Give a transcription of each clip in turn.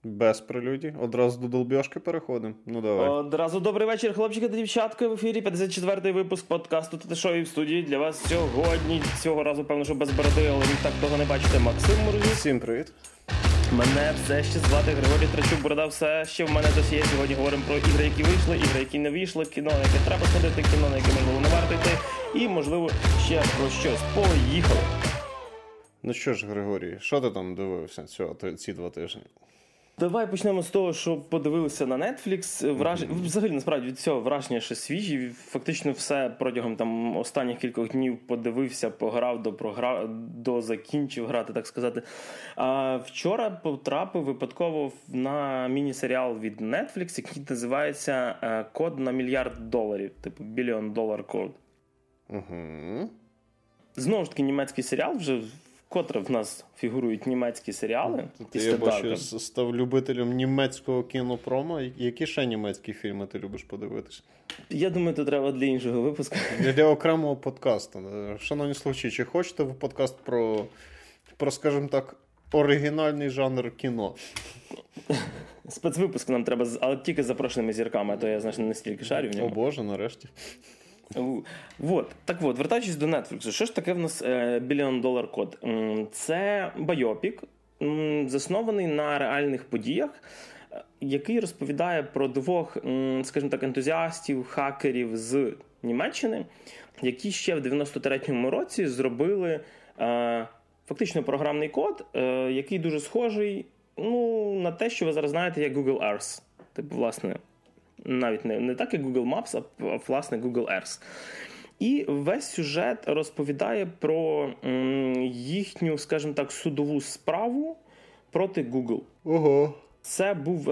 Без прелюдій. Одразу до долбьошки переходимо. Ну, давай. Одразу добрий вечір, хлопчики та дівчатка. В ефірі 54-й випуск подкасту «Тете-шоу» в студії. Для вас сьогодні, цього разу, певно, що без бороди, але ви так того не бачите, Максим Морозюк. Всім привіт. Мене все ще звати Григорій Трачук, борода все ще в мене досі є. Сьогодні говоримо про ігри, які вийшли, ігри, які не вийшли, кіно, на яке треба сходити, кіно, на яке, можливо, не варто йти, і, можливо, ще про щось. Поїхали! Ну що ж, Григорій, що ти там дивився ці 2 тижні? Давай почнемо з того, що подивилися на Netflix. Взагалі, насправді, від цього враження ще свіжі. Фактично все протягом там останніх кількох днів подивився, пограв, закінчив грати, так сказати. А вчора потрапив випадково на міні-серіал від Netflix, який називається «Код на $1 мільярд», типу $1 billion code. Угу. Знову ж таки, німецький серіал, вже вкотре в нас фігурують німецькі серіали. Я бачу, став любителем німецького кінопрома. Які ще німецькі фільми ти любиш подивитися? Я думаю, це треба для іншого випуску. Для окремого подкасту. Шановні слухачі, чи хочете ви подкаст про, скажімо так, оригінальний жанр кіно? Спецвипуск нам треба, але тільки з запрошеними зірками, а то я, значить, не стільки шарю в ньому. О Боже, нарешті. Так от, вертаючись до Netflix, що ж таке в нас $1 billion code? Це байопік, заснований на реальних подіях, який розповідає про 2, скажімо так, ентузіастів, хакерів з Німеччини, які ще в 93-му році зробили фактично програмний код, який дуже схожий на те, що ви зараз знаєте, як Google Earth. Типу, власне, навіть не так, як Google Maps, а власне Google Earth. І весь сюжет розповідає про їхню, скажімо так, судову справу проти Google. Ого. Це був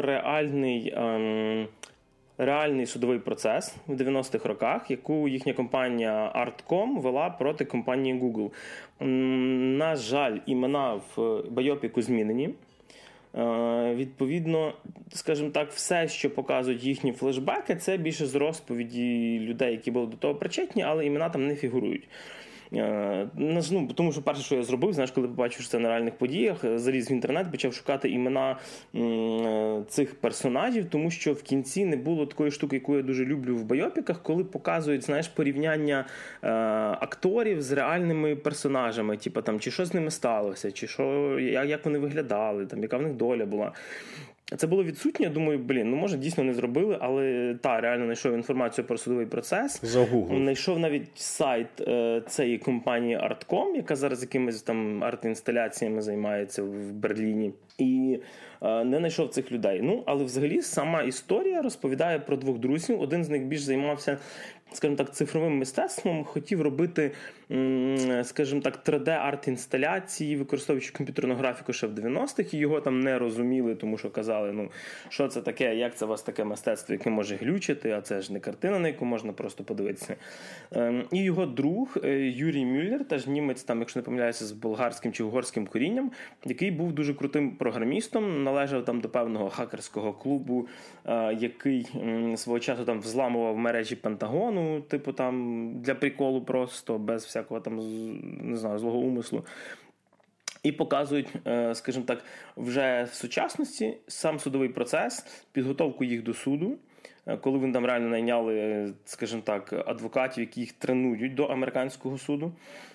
реальний судовий процес в 90-х роках, яку їхня компанія Artcom вела проти компанії Google. На жаль, імена в байопіку змінені. Відповідно, скажімо так, все, що показують їхні флешбеки, це більше з розповіді людей, які були до того причетні, але імена там не фігурують. Тому що перше, що я зробив, знаєш, коли побачив, що це на реальних подіях, заліз в інтернет, почав шукати імена цих персонажів, тому що в кінці не було такої штуки, яку я дуже люблю в байопіках, коли показують, знаєш, порівняння акторів з реальними персонажами, типу там, чи що з ними сталося, чи що, як вони виглядали, там, яка в них доля була. Це було відсутнє, думаю, може дійсно не зробили, але реально знайшов інформацію про судовий процес. Загуглив. Знайшов навіть сайт цієї компанії Artcom, яка зараз якимись там арт-інсталяціями займається в Берліні. І не знайшов цих людей. Але взагалі сама історія розповідає про 2 друзів. Один з них більш займався, скажімо так, цифровим мистецтвом, хотів робити, скажімо так, 3D-арт-інсталяції, використовуючи комп'ютерну графіку ще в 90-х, і його там не розуміли, тому що казали, що це таке, як це у вас таке мистецтво, яке може глючити, а це ж не картина, на яку можна просто подивитися. І його друг Юрій Мюллер, теж німець, там, якщо не помиляюся, з болгарським чи угорським корінням, який був дуже крутим програмістом, належав там до певного хакерського клубу, який свого часу там взламував мережі Пентагону, типу там для приколу просто, без всякого там, не знаю, злого умислу. І показують, скажімо так, вже в сучасності сам судовий процес, підготовку їх до суду, коли вони там реально найняли, скажімо так, адвокатів, які їх тренують до американського суду.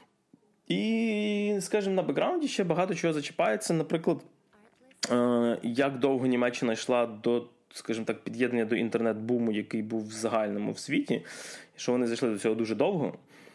І, скажімо, на бекграунді ще багато чого зачіпається. Наприклад, як довго Німеччина йшла до, скажімо так, під'єднання до інтернет-буму, який був в загальному в світі, що вони зайшли до цього дуже довго.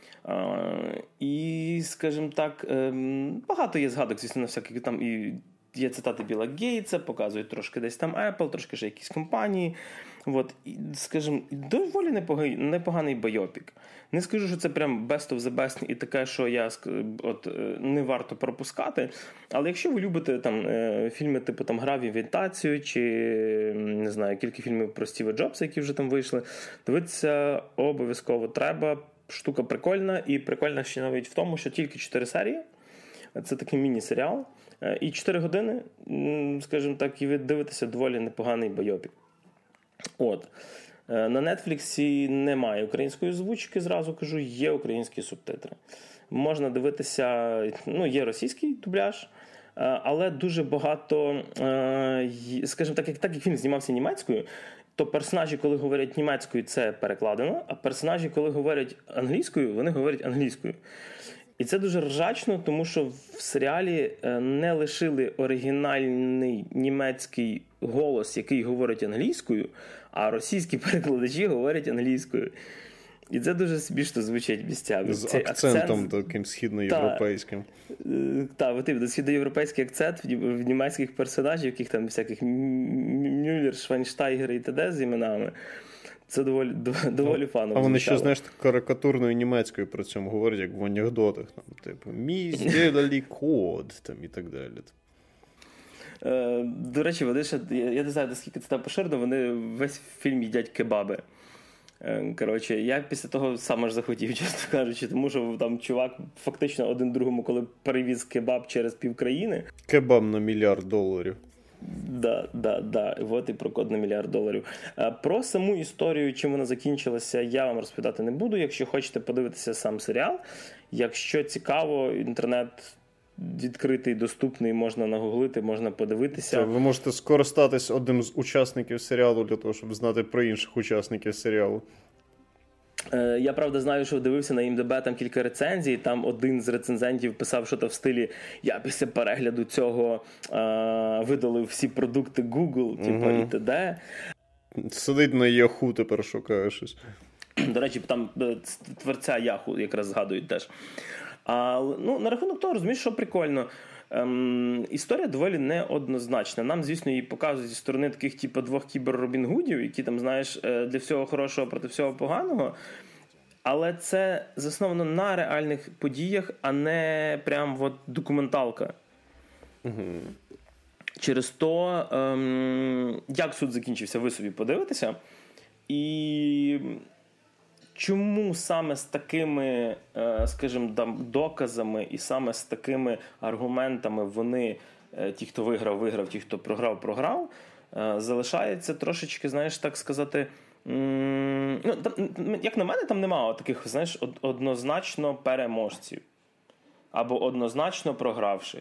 І, скажімо так, багато є згадок, звісно, на всяких там, і є цитати Білла Гейтса, показують трошки десь там Apple, трошки ще якісь компанії. І, скажімо, доволі непоганий байопік. Не скажу, що це прям best of the best і таке, що не варто пропускати. Але якщо ви любите там фільми типу там «Гра в імітацію» чи, не знаю, кілька фільмів про Стіва Джобса, які вже там вийшли, дивитися обов'язково треба. Штука прикольна, і прикольна ще навіть в тому, що тільки 4 серії. Це такий міні-серіал. І 4 години, скажімо так, і ви дивитеся доволі непоганий байопік. На Netflix немає української озвучки, зразу кажу, є українські субтитри. Можна дивитися, є російський дубляж, але дуже багато, скажімо так, як фільм знімався німецькою, то персонажі, коли говорять німецькою, це перекладено, а персонажі, коли говорять англійською, вони говорять англійською. І це дуже ржачно, тому що в серіалі не лишили оригінальний німецький голос, який говорить англійською, а російські перекладачі говорять англійською. І це дуже смішно звучить місцями. З акцентом таким східноєвропейським. Так, східноєвропейський акцент в німецьких персонажів, яких там всяких Мюллер, Швайнштайгер і т.д. з іменами. Це доволі фаново. А вони ще, знаєш, карикатурною німецькою при цьому говорять, як в анекдотах. Там, типу, «Мі здєлалі код» там, і так далі. До речі, вони ще, я не знаю, наскільки це там поширено, вони весь фільм їдять кебаби. Коротше, я після того сам аж захотів, чесно кажучи, тому що там чувак фактично один другому, коли перевіз кебаб через півкраїни. Кебаб на $1 мільярд. Да. От і про код на $1 мільярд. Про саму історію, чим вона закінчилася, я вам розповідати не буду. Якщо хочете подивитися сам серіал, якщо цікаво, інтернет відкритий, доступний, можна нагуглити, можна подивитися. Ви можете скористатись одним з учасників серіалу для того, щоб знати про інших учасників серіалу. Я, правда, знаю, що дивився на IMDb там кілька рецензій, там один з рецензентів писав щось в стилі «Я після перегляду цього видалив всі продукти Google», типу, і т.д. Сидить на Yahoo, тепер шукає щось. До речі, там творця Yahoo якраз згадують теж. На рахунок того, розумієш, що прикольно. Історія доволі неоднозначна. Нам, звісно, її показують зі сторони таких типу двох кібер-Робін-Гудів, які там, знаєш, для всього хорошого проти всього поганого. Але це засновано на реальних подіях, а не прям от документалка. Угу. Через то, як суд закінчився, ви собі подивитеся. І чому саме з такими, скажімо, доказами і саме з такими аргументами вони, ті, хто виграв, ті, хто програв, залишається трошечки, знаєш, так сказати, як на мене, там немає таких, знаєш, однозначно переможців або однозначно програвших.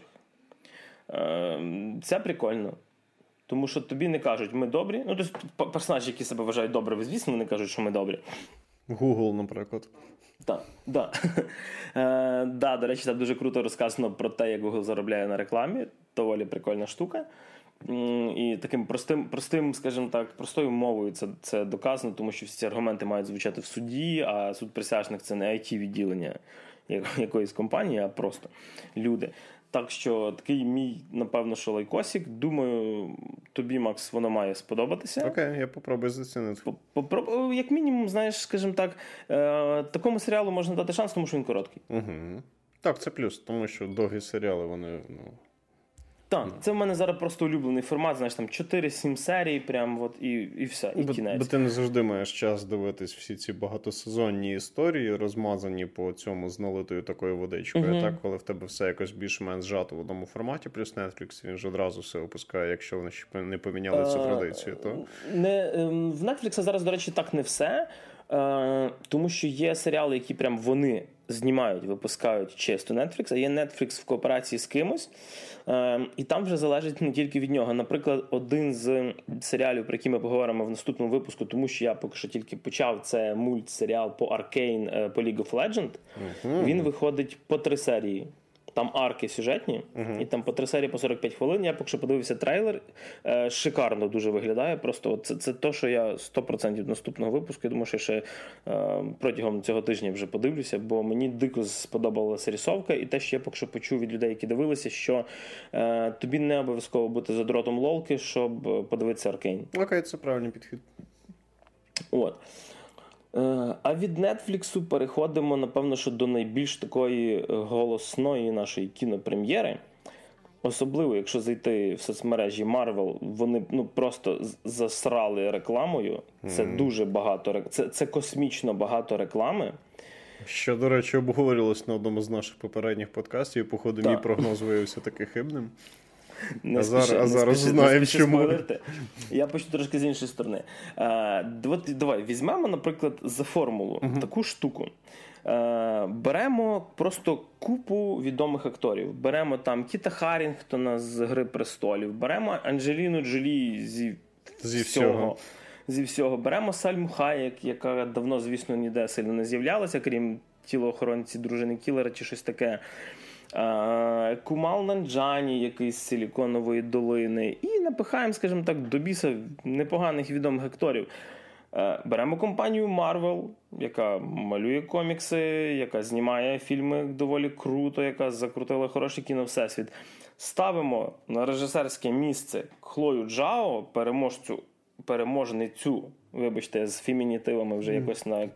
Це прикольно. Тому що тобі не кажуть, ми добрі. Ну, тобто персонажі, які себе вважають добрими, звісно, вони кажуть, що ми добрі. Google, наприклад. Так, до речі, там дуже круто розказано про те, як Google заробляє на рекламі. Доволі прикольна штука. І таким простим, скажімо так, простою мовою це доказано, тому що всі ці аргументи мають звучати в суді, а суд присяжних – це не IT-відділення якоїсь компанії, а просто люди. Так що такий мій, напевно, що лайкосик. Думаю, тобі, Макс, воно має сподобатися. Окей, я попробую зацінити. Як мінімум, знаєш, скажімо так, такому серіалу можна дати шанс, тому що він короткий. Угу. Так, це плюс, тому що довгі серіали, вони... Так, це в мене зараз просто улюблений формат, знаєш, там 4-7 серій, прям от і все, і кінець. Бо ти не завжди маєш час дивитись всі ці багатосезонні історії, розмазані по цьому з налитою такою водичкою. Так, коли в тебе все якось більш-менш зжато в одному форматі, плюс Netflix, він ж одразу все опускає, якщо вони ще не поміняли цю традицію, то... В Netflix зараз, до речі, так не все, тому що є серіали, які прям вони знімають, випускають чисто Netflix, а є Netflix в кооперації з кимось, і там вже залежить не тільки від нього. Наприклад, один з серіалів, про які ми поговоримо в наступному випуску, тому що я поки що тільки почав, це мультсеріал по Arcane, по League of Legends. Він виходить по 3 серії. Там арки сюжетні, і там по 3 серії по 45 хвилин. Я поки що подивився трейлер. Шикарно дуже виглядає. Просто це те, що я 100% наступного випуску. Я думаю, що ще протягом цього тижня вже подивлюся, бо мені дико сподобалася рисовка. І те, що я поки що почув від людей, які дивилися, що тобі не обов'язково бути задротом лолки, щоб подивитися Arcane. Окей, це правильний підхід. От. А від Netflix переходимо, напевно, що до найбільш такої голосної нашої кінопрем'єри. Особливо, якщо зайти в соцмережі Marvel, вони просто засрали рекламою. Це дуже багато, це космічно багато реклами. Що, до речі, обговорювалось на одному з наших попередніх подкастів, і, походу, мій прогноз виявився таки хибним. Зараз знаємо, чому. Я почну трошки з іншої сторони. Давай, візьмемо, наприклад, за формулу таку штуку. беремо просто купу відомих акторів. Беремо там Кіта Харрінгтона з «Гри престолів», беремо Анджеліну Джолі зі всього. Беремо Сальму Хаєк, яка давно, звісно, ніде сильно не з'являлася, крім тілоохоронці дружини Кілера чи щось таке. Кумал Нанджані, який з Силіконової долини. І напихаємо, скажімо так, до біса непоганих відомих акторів. Беремо компанію Marvel, яка малює комікси, яка знімає фільми доволі круто, яка закрутила хороший кіновсесвіт. Ставимо на режисерське місце Хлою Джао, переможницю, вибачте, з фемінітивами вже якось на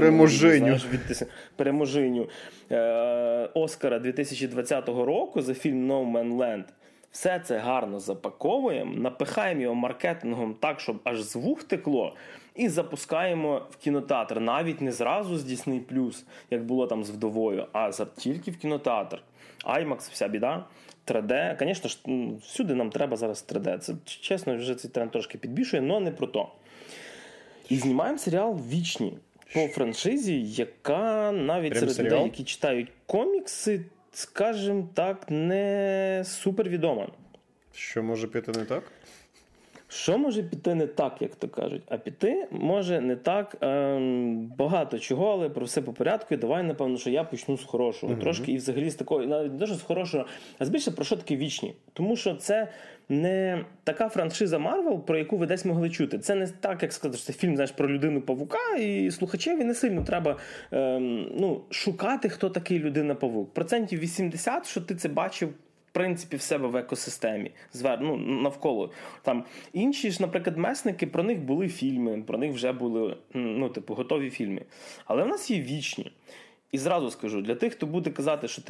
переможиню Оскара 2020 року за фільм No Man Land. Все це гарно запаковуємо, напихаємо його маркетингом так, щоб аж з вух текло, і запускаємо в кінотеатр. Навіть не зразу з Disney+, як було там з «Вдовою», а тільки в кінотеатр. IMAX, вся біда. 3D. Звісно ж, всюди нам треба зараз 3D. Це, чесно, вже цей тренд трошки підбільшує, але не про то. І знімаємо серіал «Вічні» по франшизі, яка навіть серед людей, які читають комікси, скажімо так, не супервідома. Що може піти не так? Що може піти не так, як то кажуть? А піти може не так багато чого, але про все по порядку. І давай, напевно, що я почну з хорошого. Трошки і взагалі з такого, навіть не дуже з хорошого, а більше про що таке «Вічні». Тому що це не така франшиза Marvel, про яку ви десь могли чути. Це не так, як сказати, що це фільм, знаєш, про людину-павука, і слухачеві не сильно треба шукати, хто такий людина-павук. 80%, що ти це бачив, в принципі, в себе в екосистемі, навколо. Там інші ж, наприклад, месники, про них були фільми, про них вже були, готові фільми. Але в нас є «Вічні». І зразу скажу, для тих, хто буде казати, що,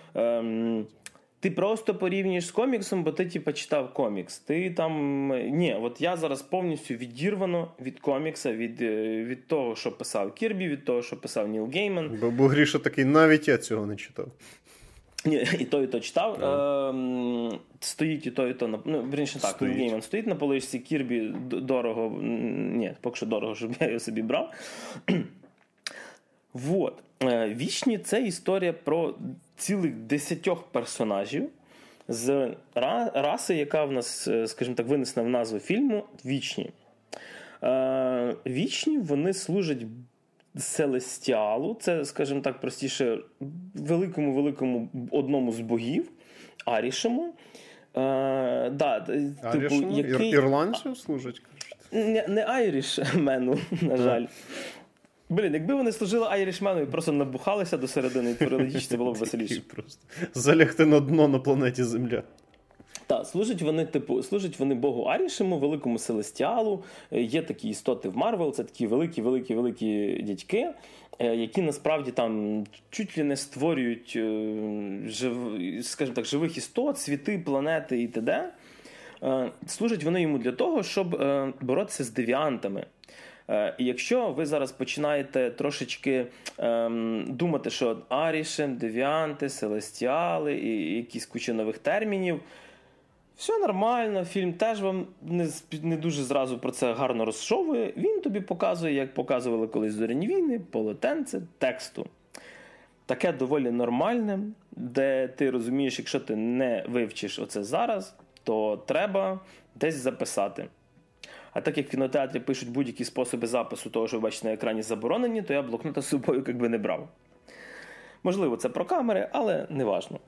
ти просто порівнюєш з коміксом, бо ти, читав комікс. Ти там... Ні, от я зараз повністю відірвано від комікса, від того, що писав Кірбі, від того, що писав Ніл Гейман. Бо Гріша такий, навіть я цього не читав. Ні, і то читав. Стоїть і то. Вірніше так, Ніл Гейман стоїть на поличці, Кірбі дорого. Ні, поки що дорого, щоб я його собі брав. Вот. «Вічні» – це історія про цілих 10 персонажів з раси, яка в нас, скажімо так, винесена в назву фільму «Вічні». Вічні, вони служать Селестіалу, це, скажімо так, простіше, великому одному з богів, Арішему. Арішему? Ірландцю служать? Не Айрішмену, на жаль. Якби вони служили Айрішмену і просто набухалися до середини і творили діч, це було б веселіше. Просто залягти на дно на планеті Земля. Так, служать вони Богу Арішему, великому Селестіалу. Є такі істоти в Марвел, це такі великі дядьки, які насправді там чуть ли не створюють, скажімо так, живих істот, світи, планети і т.д. Служать вони йому для того, щоб боротися з девіантами. І якщо ви зараз починаєте трошечки думати, що Арішем, девіанти, Селестіали і якісь куча нових термінів, все нормально, фільм теж вам не дуже зразу про це гарно розшовує. Він тобі показує, як показували колись «Зоряні війни», полотенце тексту. Таке доволі нормальне, де ти розумієш, якщо ти не вивчиш оце зараз, то треба десь записати. А так як в кінотеатрі пишуть будь-які способи запису того, що ви бачите на екрані, заборонені, то я блокнота з собою якби не брав. Можливо, це про камери, але не важно.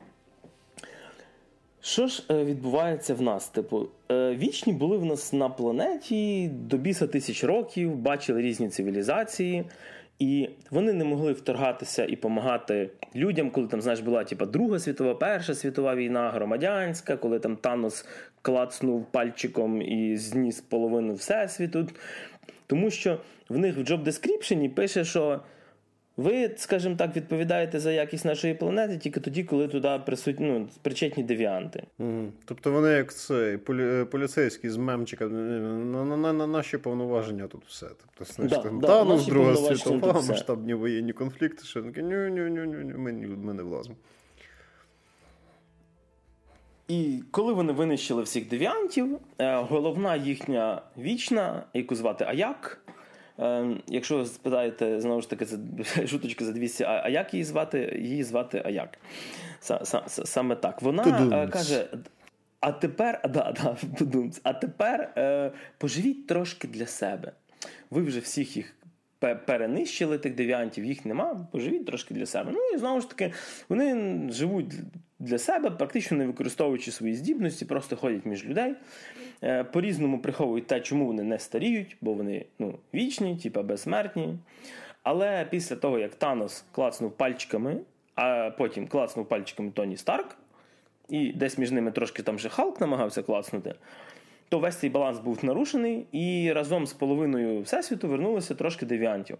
Що ж відбувається в нас? Вічні були в нас на планеті до біса 1000 років, бачили різні цивілізації, і вони не могли вторгатися і допомагати людям, коли там, знаєш, була Друга світова, Перша світова війна, громадянська, коли там Танос клацнув пальчиком і зніс половину всесвіту. Тому що в них в job description пише, що ви, скажімо так, відповідаєте за якість нашої планети тільки тоді, коли туди причетні девіанти. Тобто вони як цей поліцейський з мемчика, на наші повноваження тут все. Тобто, знаєш, Танос, Друга світова, масштабні воєнні конфлікти, що таке, ми не влазимо. І коли вони винищили всіх девіантів, головна їхня вічна, яку звати Аяк, якщо ви спитаєте, знову ж таки, це шуточка за 200, а як її звати? Її звати Аяк. Саме так. Вона каже, а тепер поживіть трошки для себе. Ви вже всіх їх перенищили, тих девіантів, їх нема, поживіть трошки для себе. Ну і знову ж таки, вони живуть для себе, практично не використовуючи свої здібності, просто ходять між людей, по-різному приховують те, чому вони не старіють, бо вони вічні, типа безсмертні. Але після того, як Танос клацнув пальчиками, а потім клацнув пальчиками Тоні Старк, і десь між ними трошки там же Халк намагався клацнути, то весь цей баланс був нарушений, і разом з половиною Всесвіту вернулося трошки девіантів.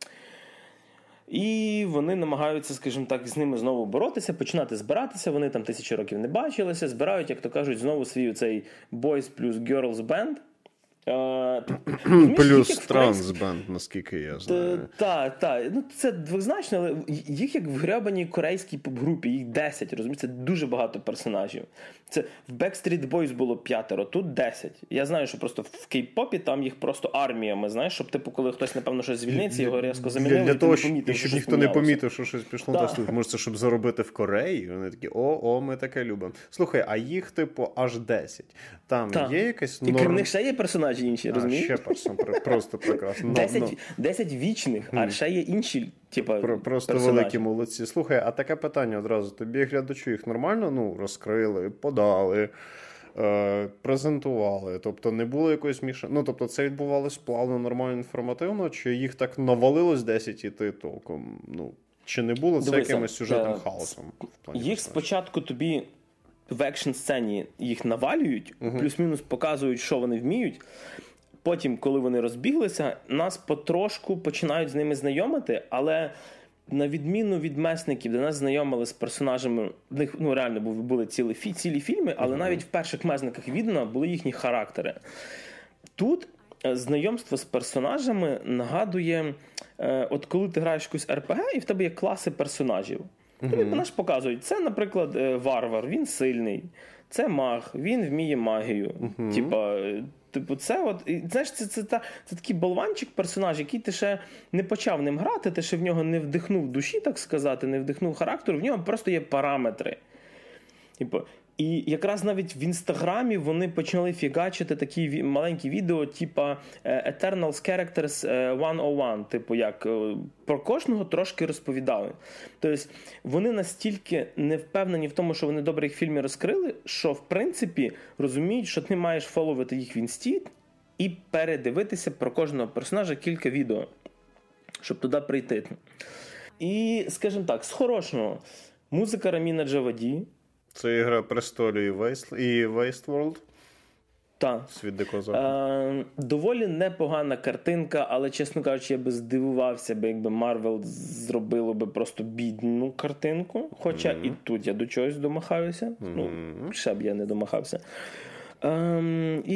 І вони намагаються, скажімо так, з ними знову боротися, починати збиратися, вони там 1000 років не бачилися, збирають, як то кажуть, знову свій цей Boys плюс Girls Band. Плюс трансбенд, наскільки я знаю. Так. Ну, це двозначно, але їх як в гребаній корейській поп-групі, їх 10, розумієте, це дуже багато персонажів. Це в Backstreet Boys було 5, тут 10. Я знаю, що просто в кей-попі там їх просто арміями, знаєш, щоб типу, коли хтось, напевно, щось звільниться, його різко замінили, для того, помітив, щоб ніхто не помітив, що щось пішло на слух. Може, це щоб заробити в Кореї? Вони такі, ми таке любимо. Слухай, а їх, типу, аж 10. Там є якась норма? І крім них ще є персонажі інші, розумієш? Ще просто прекрасно. 10 вічних, а ще є інші, типа, просто персонажі. Великі молодці. Слухай, а таке питання одразу. Тобі, глядачу, їх нормально розкрили, подали, презентували? Тобто не було якоїсь мішання? Ну, тобто це відбувалось плавно, нормально, інформативно? Чи їх так навалилось 10 і ти толком? Ну, чи не було це якимось сюжетним хаосом? Їх спочатку тобі в екшн-сцені їх навалюють, плюс-мінус показують, що вони вміють. Потім, коли вони розбіглися, нас потрошку починають з ними знайомити, але на відміну від месників, де нас знайомили з персонажами, в них реально були цілі фільми, але навіть в перших месниках видно були їхні характери. Тут знайомство з персонажами нагадує, от коли ти граєш якусь РПГ, і в тебе є класи персонажів. Тобі наш показують, це, наприклад, варвар, він сильний, це маг, він вміє магію. Типу, це от, знаєш, це такий болванчик персонаж, який ти ще не почав ним грати, ти ще в нього не вдихнув душі, так сказати, не вдихнув характеру, в нього просто є параметри. Типу, і якраз навіть в Інстаграмі вони почали фігачити такі маленькі відео, типа Eternals Characters 101, типу як про кожного трошки розповідали. Тобто вони настільки не впевнені в тому, що вони добре їх в фільмі розкрили, що в принципі розуміють, що ти маєш фоловити їх в інсті і передивитися про кожного персонажа кілька відео, щоб туди прийти. І, скажімо так, з хорошого, музика Раміна Джаваді. Це «Ігра престолів» і Wasteworld? Так. «Світ дикого заходу». Доволі непогана картинка, але, чесно кажучи, я би здивувався, якби Marvel зробило би просто бідну картинку. Хоча і тут я до чогось домахаюся. Ну, ще б я не домахався. І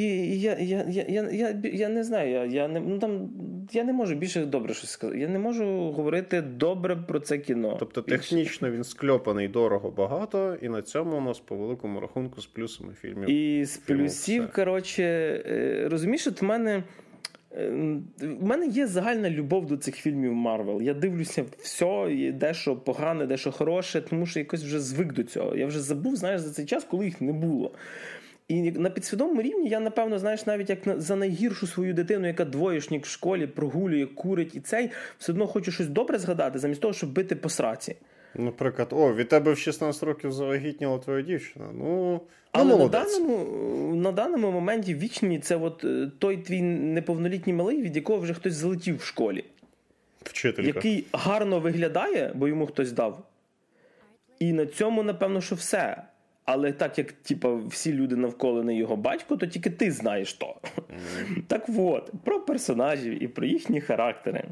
я не знаю, я не можу більше добре щось сказати. Я не можу говорити добре про це кіно. Тобто технічно він скльопаний дорого багато, і на цьому у нас по великому рахунку з плюсами фільмів. І з плюсів, коротше, розумієш, от в мене є загальна любов до цих фільмів Марвел. Я дивлюся все, дещо погане, дещо хороше, тому що якось вже звик до цього. Я вже забув, знаєш, за цей час, коли їх не було. І на підсвідомому рівні я, напевно, знаєш, навіть як за найгіршу свою дитину, яка двоєшник в школі, прогулює, курить і цей, все одно хочу щось добре згадати, замість того, щоб бити по сраці. Наприклад, від тебе в 16 років завагітніла твоя дівчина. Але на даному моменті вічні це от той твій неповнолітній малий, від якого вже хтось залетів в школі. Вчителька. Який гарно виглядає, бо йому хтось дав. І на цьому, напевно, що все. Але так як всі люди навколо не його батько, то тільки ти знаєш то. Так от, про персонажів і про їхні характери.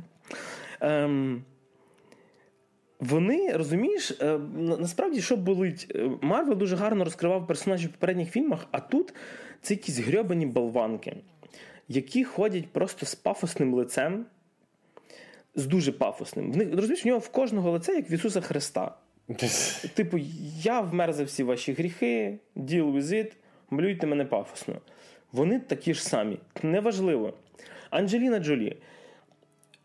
Вони, розумієш, насправді, що болить? Марвел дуже гарно розкривав персонажів в попередніх фільмах, а тут це якісь грьобані болванки, які ходять просто з пафосним лицем, з дуже пафосним. Розумієш, у нього в кожного лице, як в Ісуса Христа. Типу, я вмер за всі ваші гріхи, deal with it, малюйте мене пафосно. Вони такі ж самі. Неважливо. Анджеліна Джолі.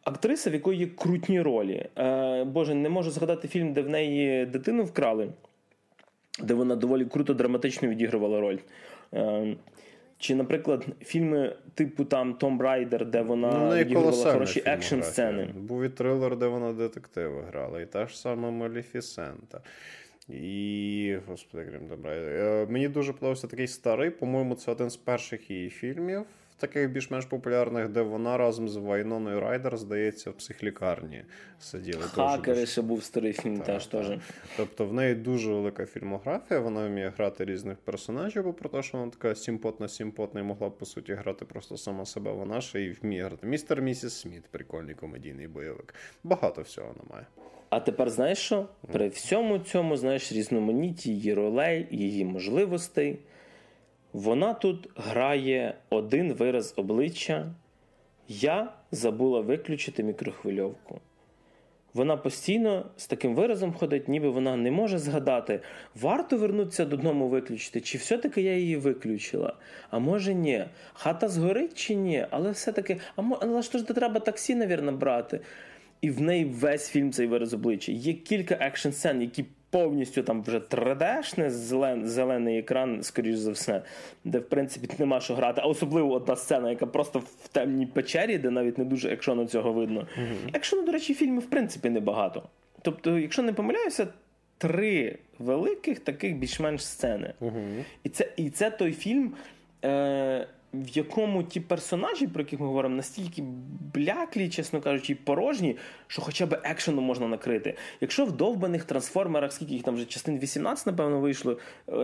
актриса, в якої є крутні ролі. Боже, не можу згадати фільм, де в неї дитину вкрали, де вона доволі круто драматично відігрувала роль. Чи, наприклад, фільми типу там «Том Райдер», де вона відігрувала хороші екшн-сцени. Був і трилер, де вона детективи грала, і та ж сама Малефісента. І, господи, крім добра. Мені дуже подобався такий старий, по-моєму, це один з перших її фільмів, таких більш-менш популярних, де вона разом з Вайноною Райдер, здається, в психлікарні сиділи. «Хакери» ще був старий фільм теж. Тобто в неї дуже велика фільмографія, вона вміє грати різних персонажів, бо про те, що вона така симпотна і могла б, по суті, грати просто сама себе. Вона ще й вміє грати. «Містер і місіс Сміт», прикольний комедійний бойовик. Багато всього вона має. А тепер знаєш що? При всьому цьому, знаєш, різноманітті її ролей, її можливостей, вона тут грає один вираз обличчя. Я забула виключити мікрохвильовку. Вона постійно з таким виразом ходить, ніби вона не може згадати, варто вернутися додому виключити, чи все-таки я її виключила. А може ні. Хата згорить чи ні? Але все-таки, але ж треба таксі, навірно, брати. І в неї весь фільм цей вираз обличчя. Є кілька екшн-сцен, які повністю там вже 3D-шне, зелений екран, скоріш за все, де, в принципі, нема що грати. А особливо одна сцена, яка просто в темній печері, де навіть не дуже екшону цього видно. Екшону, до речі, фільмів, в принципі, небагато. Тобто, якщо не помиляюся, 3 великих таких більш-менш сцени. І це той фільм, в якому ті персонажі, про яких ми говоримо, настільки бляклі, чесно кажучи, і порожні, що хоча б екшену можна накрити. Якщо в довбаних трансформерах, скільки їх там вже, частин 18, напевно, вийшло,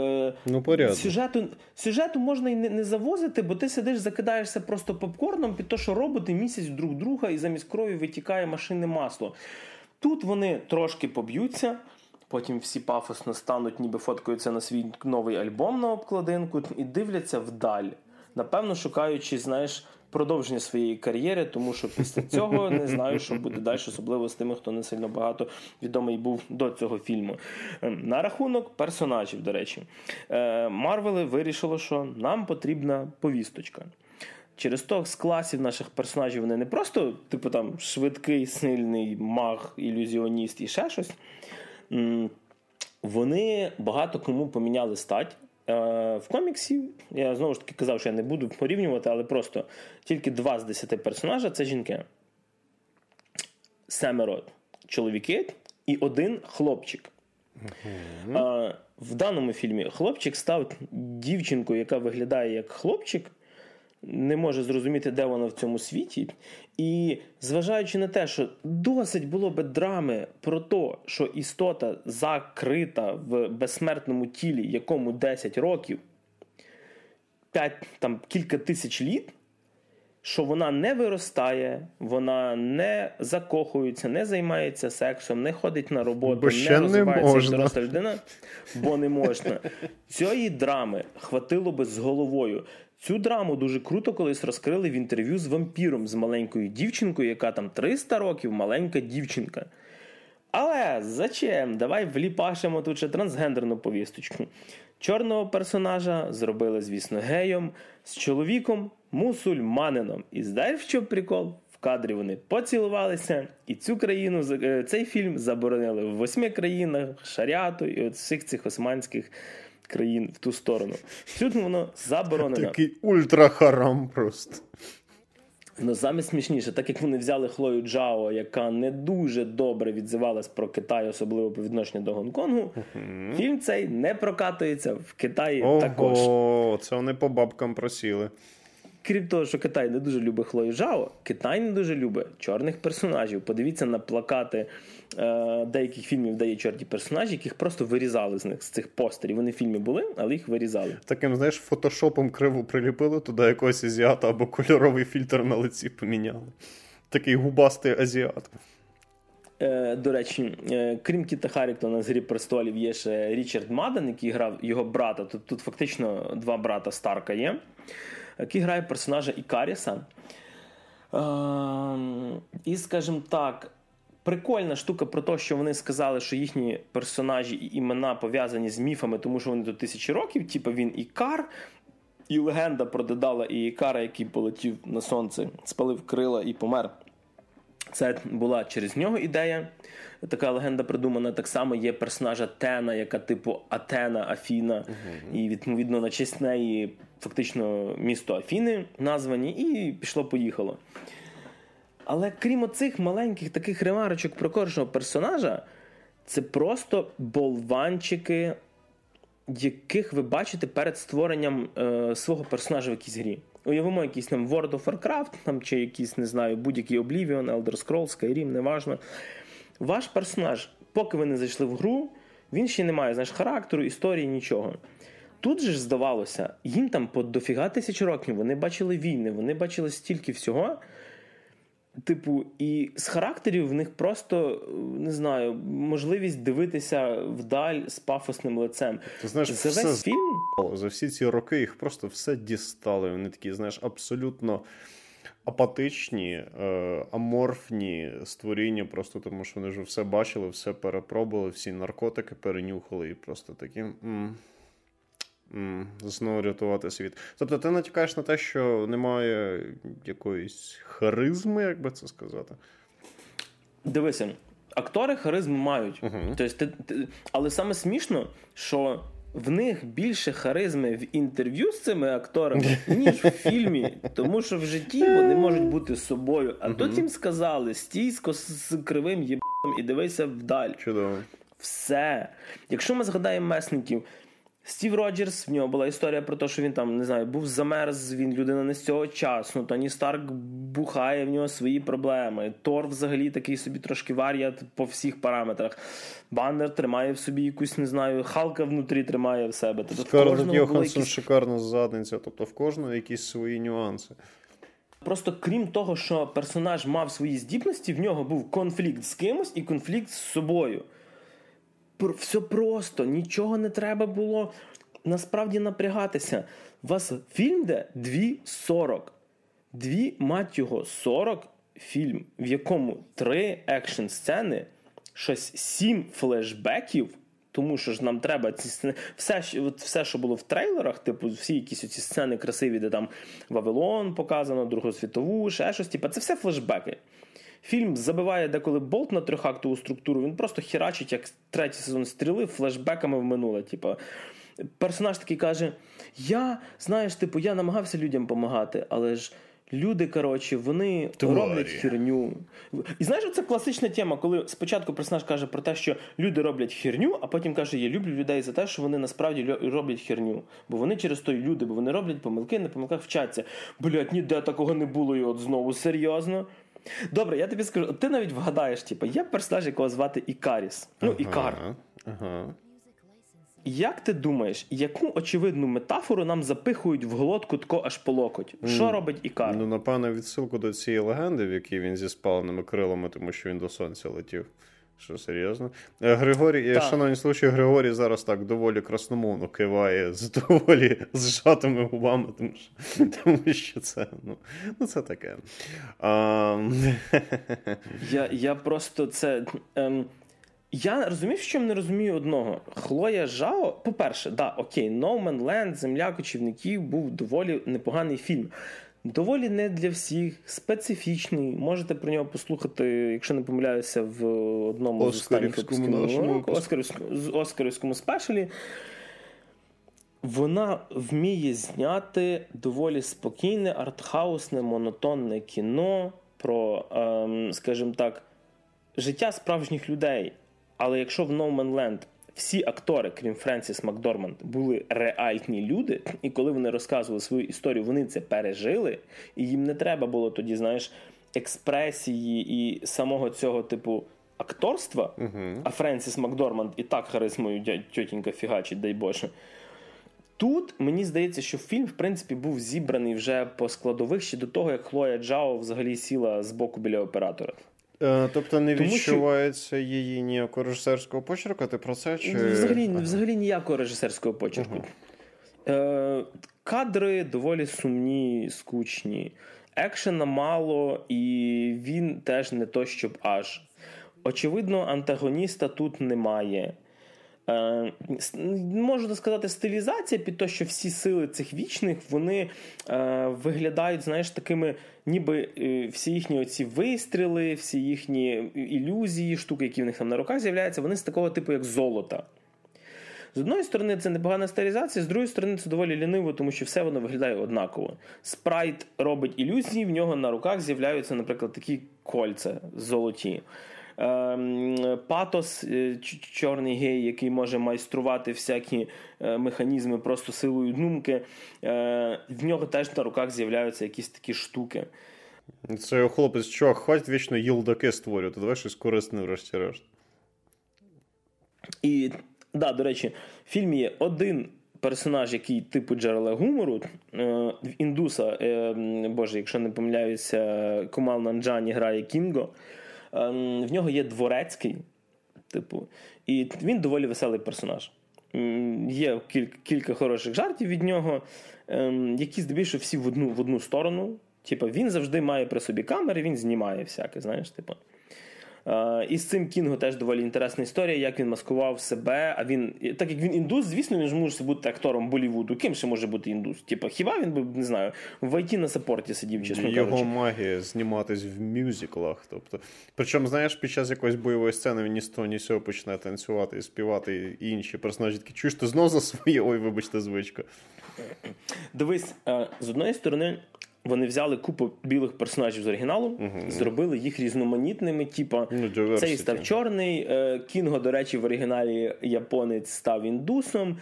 сюжету можна і не завозити, бо ти сидиш, закидаєшся просто попкорном під те, що роботи місять друг друга і замість крові витікає машинне масло. Тут вони трошки поб'ються, потім всі пафосно стануть, ніби фоткаються на свій новий альбом на обкладинку і дивляться вдаль. Напевно, шукаючи, знаєш, продовження своєї кар'єри, тому що після цього не знаю, що буде далі, особливо з тими, хто не сильно багато відомий був до цього фільму. На рахунок персонажів, до речі. Марвели вирішило, що нам потрібна повісточка. Через то з класів наших персонажів вони не просто, типу, там, швидкий, сильний маг, ілюзіоніст і ще щось. Вони багато кому поміняли стать. В коміксі, я знову ж таки казав, що я не буду порівнювати, але просто тільки 2 з 10 персонажа – це жінки. 7 чоловіки і 1 хлопчик. В даному фільмі хлопчик став дівчинкою, яка виглядає як хлопчик, не може зрозуміти, де вона в цьому світі. І зважаючи на те, що досить було би драми про те, що істота закрита в безсмертному тілі, якому 10 років, кілька тисяч літ, що вона не виростає, вона не закохується, не займається сексом, не ходить на роботу, не розвивається як доросла людина, бо не можна. Цієї драми хватило би з головою. Цю драму дуже круто колись розкрили в інтерв'ю з вампіром, з маленькою дівчинкою, яка там 300 років, маленька дівчинка. Але зачем? Давай вліпашемо тут ще трансгендерну повісточку. Чорного персонажа зробили, звісно, геєм, з чоловіком мусульманином. І знаєш, в чому прикол? В кадрі вони поцілувалися, і цей фільм заборонили в 8 країнах, шаріату і от всіх цих османських країн в ту сторону. Тут воно заборонено. Такий ультрахарам просто. Ну, саме смішніше, так як вони взяли Хлою Джао, яка не дуже добре відзивалась про Китай, особливо по відношенню до Гонконгу, фільм цей не прокатується в Китаї також. Ого, це вони по бабкам просіли. Крім того, що Китай не дуже любить Хлою Джао, Китай не дуже любить чорних персонажів. Подивіться на плакати деяких фільмів, де є чорні персонажі, яких просто вирізали з цих постерів. Вони в фільмі були, але їх вирізали. Таким, знаєш, фотошопом криво приліпили туди якогось азіата або кольоровий фільтр на лиці поміняли. Такий губастий азіат. До речі, крім Кіта Харрінгтона з «Грі престолів» є ще Річард Маден, який грав його брата. Тут фактично 2 брата Старка є, який грає персонажа Ікаріса. І, скажімо так, прикольна штука про те, що вони сказали, що їхні персонажі і імена пов'язані з міфами, тому що вони тут 1000 років, типу він Ікар, і легенда про Дедала і Ікара, який полетів на сонце, спалив крила і помер. Це була через нього ідея. Така легенда придумана. Так само є персонажа Тена, яка типу Атена, Афіна. І відповідно на честь неї фактично місто Афіни названі. І пішло-поїхало. Але крім оцих маленьких таких ремарочок про кожного персонажа, це просто болванчики, яких ви бачите перед створенням свого персонажа в якійсь грі. Уявимо якийсь там World of Warcraft, там, чи якийсь, не знаю, будь-який Oblivion, Elder Scrolls, Skyrim, неважно. Ваш персонаж, поки ви не зайшли в гру, він ще не має, знаєш, характеру, історії, нічого. Тут же ж здавалося, їм там по дофіга тисяч років, вони бачили війни, вони бачили стільки всього. Типу, і з характерів в них просто, не знаю, можливість дивитися вдаль з пафосним лицем. Ти знаєш, за весь фільм... За всі ці роки їх просто все дістали. Вони такі, знаєш, абсолютно апатичні, аморфні створіння, просто тому що вони вже все бачили, все перепробували, всі наркотики перенюхали і просто такі... знову рятувати світ. Тобто ти натякаєш на те, що немає якоїсь харизми, як би це сказати? Дивися, актори харизму мають. Тобто, але саме смішно, що в них більше харизми в інтерв'ю з цими акторами, ніж в фільмі. Тому що в житті вони можуть бути собою. А тут їм сказали, стій з кривим єбаном і дивися вдаль. Чудово. Все. Якщо ми згадаємо месників, Стів Роджерс, в нього була історія про те, що він там, не знаю, був замерз, він людина не з цього часу, Тоні Старк бухає, в нього свої проблеми, Тор взагалі такий собі трошки варіат по всіх параметрах, Баннер тримає в собі якусь, не знаю, Халка внутрі тримає в себе. Тобто Скарлетт Йоханссон шикарна задниця, тобто в кожного якісь свої нюанси. Просто крім того, що персонаж мав свої здібності, в нього був конфлікт з кимось і конфлікт з собою. Все просто, нічого не треба було насправді напрягатися. У вас фільм де 2:40. 2:40 фільм, в якому 3 екшн-сцени, щось 7 флешбеків, тому що ж нам треба ці сцени, все, що було в трейлерах, типу всі якісь оці сцени красиві, де там Вавилон показано, Другу світову, ще щось, типу, це все флешбеки. Фільм забиває деколи болт на трьохактову структуру, він просто херачить, як третій сезон Стріли, флешбеками в минуле. Типу, персонаж такий каже, я намагався людям допомагати, але ж люди, коротше, вони роблять херню. І знаєш, це класична тема, коли спочатку персонаж каже про те, що люди роблять херню, а потім каже, я люблю людей за те, що вони насправді роблять херню. Бо вони через то й люди, бо вони роблять помилки, на помилках вчаться. Блядь, ніде такого не було, і от знову серйозно. Добре, я тобі скажу, ти навіть вгадаєш, типу, є персонаж, якого звати Ікаріс. Ікар. Як ти думаєш, яку очевидну метафору нам запихують в глотку тако аж по локоть? Що робить Ікар? Напевно, відсилку до цієї легенди, в якій він зі спаленими крилами, тому що він до сонця летів. Що, серйозно? Григорій, шановні слухачі, Григорій зараз так доволі красномовно киває з доволі зжатими губами, тому що це, це таке. Я просто це... Я розумію, що не розумію одного. Хлоя Жао, по-перше, No Man Land, Земля кочівників був доволі непоганий фільм. Доволі не для всіх, специфічний. Можете про нього послухати, якщо не помиляюся, в одному з останніх випусків Оскарівському спешалі. Вона вміє зняти доволі спокійне, артхаусне, монотонне кіно про, скажімо так, життя справжніх людей. Але якщо в No Man Land всі актори, крім Френсіс Макдорманд, були реальні люди, і коли вони розказували свою історію, вони це пережили, і їм не треба було тоді, знаєш, експресії і самого цього типу акторства, а Френсіс Макдорманд і так харизмою тьотінька фігачить, дай Боже. Тут, мені здається, що фільм, в принципі, був зібраний вже по складових ще до того, як Хлоя Джао взагалі сіла з боку біля оператора. Тобто не відчувається її ніякого режисерського почерку? Ти про це? Чи... Взагалі ніякого режисерського почерку. Кадри доволі сумні, скучні. Екшена мало, і він теж не то, щоб аж. Очевидно, антагоніста тут немає. можна сказати, стилізація під те, що всі сили цих вічних, вони виглядають, знаєш, такими, ніби всі їхні оці вистріли, всі їхні ілюзії, штуки, які в них там на руках з'являються, вони з такого типу, як золота. З одної сторони, це непогана стилізація, з другої сторони, це доволі ліниво, тому що все воно виглядає однаково. Спрайт робить ілюзії, в нього на руках з'являються, наприклад, такі кольця золоті. Патос, чорний гей, який може майструвати всякі механізми просто силою думки, в нього теж на руках з'являються якісь такі штуки. Це його хлопець, чувак, хватить вічно їлдаки створювати, давай щось корисне врешті-решт. І, да, до речі, в фільмі є один персонаж, який типу джерела гумору, в індуса, боже, якщо не помиляюся, Кумал Нанджані грає Кінго. В нього є дворецький, типу, і він доволі веселий персонаж. Є кілька хороших жартів від нього, які здебільшого всі в одну сторону. Типу, він завжди має при собі камери, він знімає всяке, знаєш, типу. І з цим Кінго теж доволі інтересна історія, як він маскував себе, а він, так як він індус, звісно, він ж може бути актором Боллівуду. Ким ще може бути індус? Типа, хіба він би, не знаю, в IT на саппорті сидів, чесно кажучи. Його магія зніматись в мюзиклах, тобто. Причому, знаєш, під час якоїсь бойової сцени він ні з того, ні з цього почне танцювати і співати, і інші персонажі такі, чуєш, ти знов за своє, ой, вибачте, звичка. Дивись, з одної сторони, вони взяли купу білих персонажів з оригіналу, зробили їх різноманітними, типа цей став чорний, Кінго, до речі, в оригіналі японець став індусом,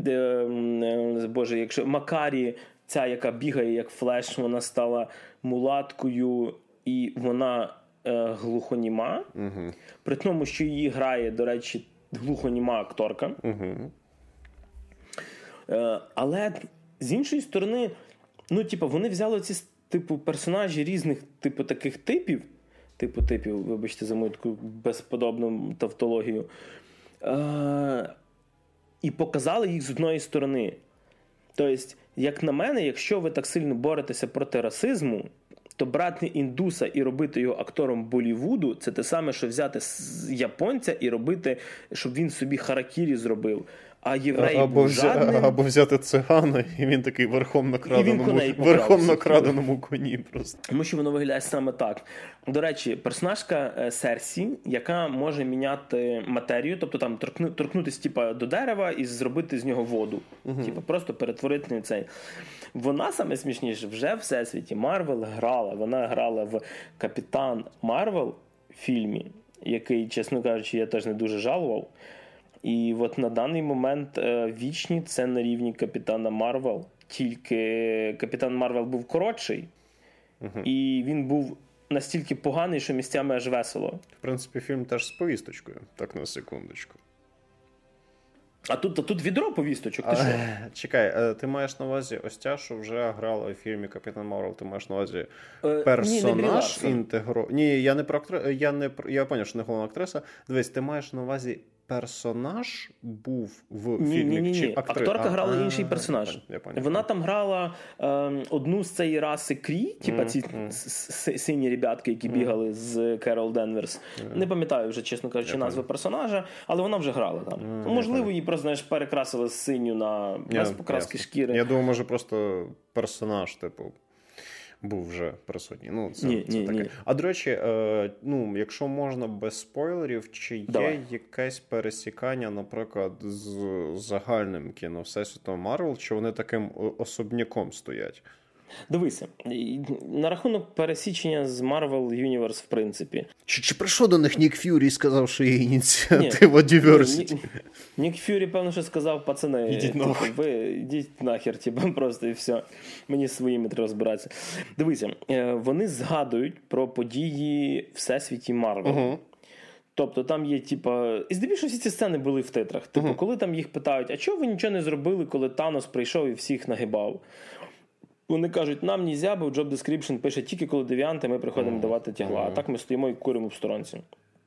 боже, якщо Макарі, ця, яка бігає як Флеш, вона стала мулаткою, і вона глухоніма, при тому, що її грає, до речі, глухоніма акторка. Але, з іншої сторони, ну, типу, вони взяли ці, типу, персонажі різних, типу, таких типів, вибачте за мою таку безподобну тавтологію, і показали їх з одної сторони. Тобто, як на мене, якщо ви так сильно боретеся проти расизму, то брати індуса і робити його актором Боллівуду, це те саме, що взяти японця і робити, щоб він собі харакірі зробив. А єврей був жадним. Або взяти цигана, і він такий верхом на краденому коні просто. Тому що воно виглядає саме так. До речі, персонажка Серсі, яка може міняти матерію, тобто там торкнутися типа до дерева і зробити з нього воду. Типа просто перетворити на цей. Вона, саме смішніше, вже в всесвіті Марвел грала. Вона грала в Капітан Марвел фільмі, який, чесно кажучи, я теж не дуже жалував. І от на даний момент вічні це на рівні Капітана Марвел. Тільки Капітан Марвел був коротший, і він був настільки поганий, що місцями аж весело. В принципі, фільм теж з повісточкою, так на секундочку. А тут відро повісточок, ти що? Чекай, ти маєш на увазі ось ця, що вже грала у фільмі Капітан Марвел, ти маєш на увазі персонаж інтегро... Ні, я не про актрису, я поняв, що не головна актриса. Дивись, ти маєш на увазі персонаж був в фільмі? Ні. Акторка грала інший персонаж. Я поняв. Вона там грала одну з цієї раси Крі, типа ці сині ребятки, які бігали з Керол Денверс. Не пам'ятаю вже, чесно кажучи, назви персонажа, але вона вже грала там. Можливо, її просто, знаєш, перекрасили з синю на без покраски шкіри. Я думаю, може просто персонаж, типу, був вже присутній. Ну, це таке. Ні. А, до речі, ну, якщо можна без спойлерів, чи є якесь пересікання, наприклад, з загальним кіно Всесвітом Марвел, чи вони таким особняком стоять? Дивися, на рахунок пересічення з Marvel Universe, в принципі. Чи прийшов до них Нік Ф'юрі і сказав, що є ініціатива Diversity? Нік Ф'юрі, певно, що сказав, пацани, ідіть нахер, типу, просто і все. Мені своїми треба розбиратися. Дивися, вони згадують про події Всесвіті Марвел. Тобто там є, типа, і здебільшого всі ці сцени були в титрах. Типу, коли там їх питають, а чого ви нічого не зробили, коли Танос прийшов і всіх нагибав? Вони кажуть, нам нельзя, бо job description пише тільки коли девіанти, ми приходимо давати тягла. А так ми стоїмо і куримо в сторонці.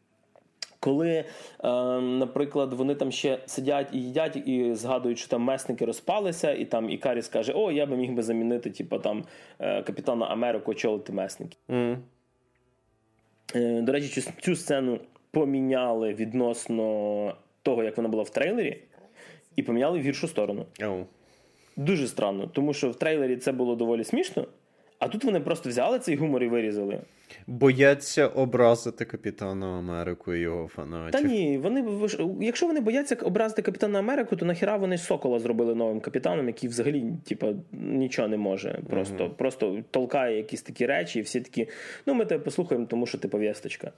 Коли, наприклад, вони там ще сидять і їдять, і згадують, що там месники розпалися, і там Ікаріс каже, о, я би міг би замінити, типу, там, Капітана Америку, очолити месники. До речі, цю сцену поміняли відносно того, як вона була в трейлері, і поміняли в гіршу сторону. Дуже странно, тому що в трейлері це було доволі смішно, а тут вони просто взяли цей гумор і вирізали. Бояться образити Капітана Америку і його фанатів. Та ні, якщо вони бояться образити Капітана Америку, то нахіра вони Сокола зробили новим капітаном, який взагалі нічого не може. Просто толкає якісь такі речі, і всі такі, ми тебе послухаємо, тому що ти пов'язочка.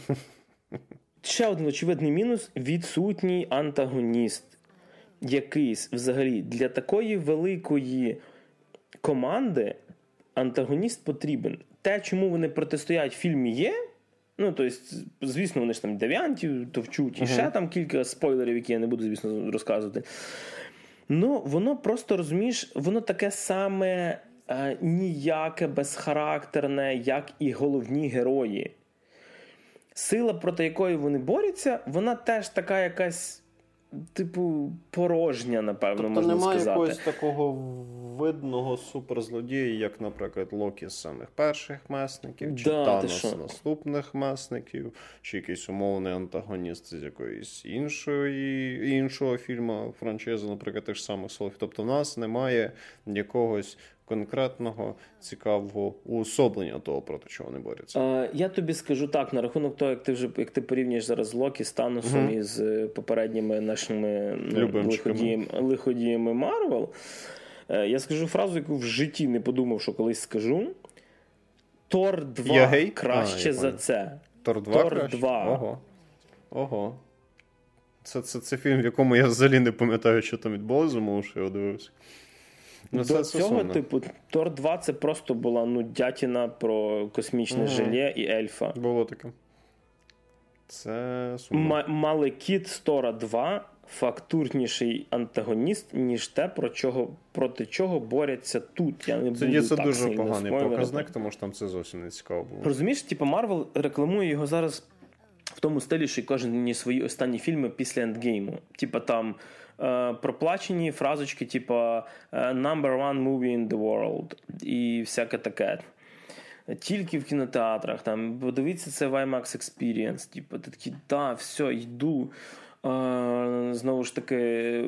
Ще один очевидний мінус – відсутній антагоніст. Якийсь взагалі для такої великої команди антагоніст потрібен. Те, чому вони протистоять в фільмі є, тобто, звісно, вони ж там девіантів товчуть, і ще там кілька спойлерів, які я не буду, звісно, розказувати. Воно просто, розумієш, воно таке саме ніяке, безхарактерне, як і головні герої. Сила, проти якої вони борються, вона теж така якась порожня, напевно, можна сказати. Тобто немає якогось такого видного суперзлодія, як, наприклад, Локі з самих перших месників, чи Танос з наступних месників, чи якийсь умовний антагоніст з якоїсь іншого фільму, франшизи, наприклад, тих самих Солофів. Тобто в нас немає якогось конкретного, цікавого уособлення того, проти чого вони борються. Я тобі скажу так, на рахунок того, як ти порівнюєш зараз Локі з Таносом і з попередніми нашими лиходіями Марвел, я скажу фразу, яку в житті не подумав, що колись скажу. Тор 2 краще за це. Тор 2 краще? 2. Ого. Це фільм, в якому я взагалі не пам'ятаю, що там відбулося, тому що я дивився. До цього, Тор 2 це просто була дятіна про космічне желе і ельфа. Було таке. Це сумно. Малекіт з Тора 2 фактурніший антагоніст, ніж те, проти чого борються тут. Я не буду Тоді це так дуже поганий показник, тому що там це зовсім не цікаво було. Розумієш, Марвел рекламує його зараз в тому стилі, що кожен свої останні фільми після ендгейму. Там проплачені фразочки, number one movie in the world і всяке таке. Тільки в кінотеатрах, подивіться це в IMAX Experience, ти такий, все, йду. Знову ж таки,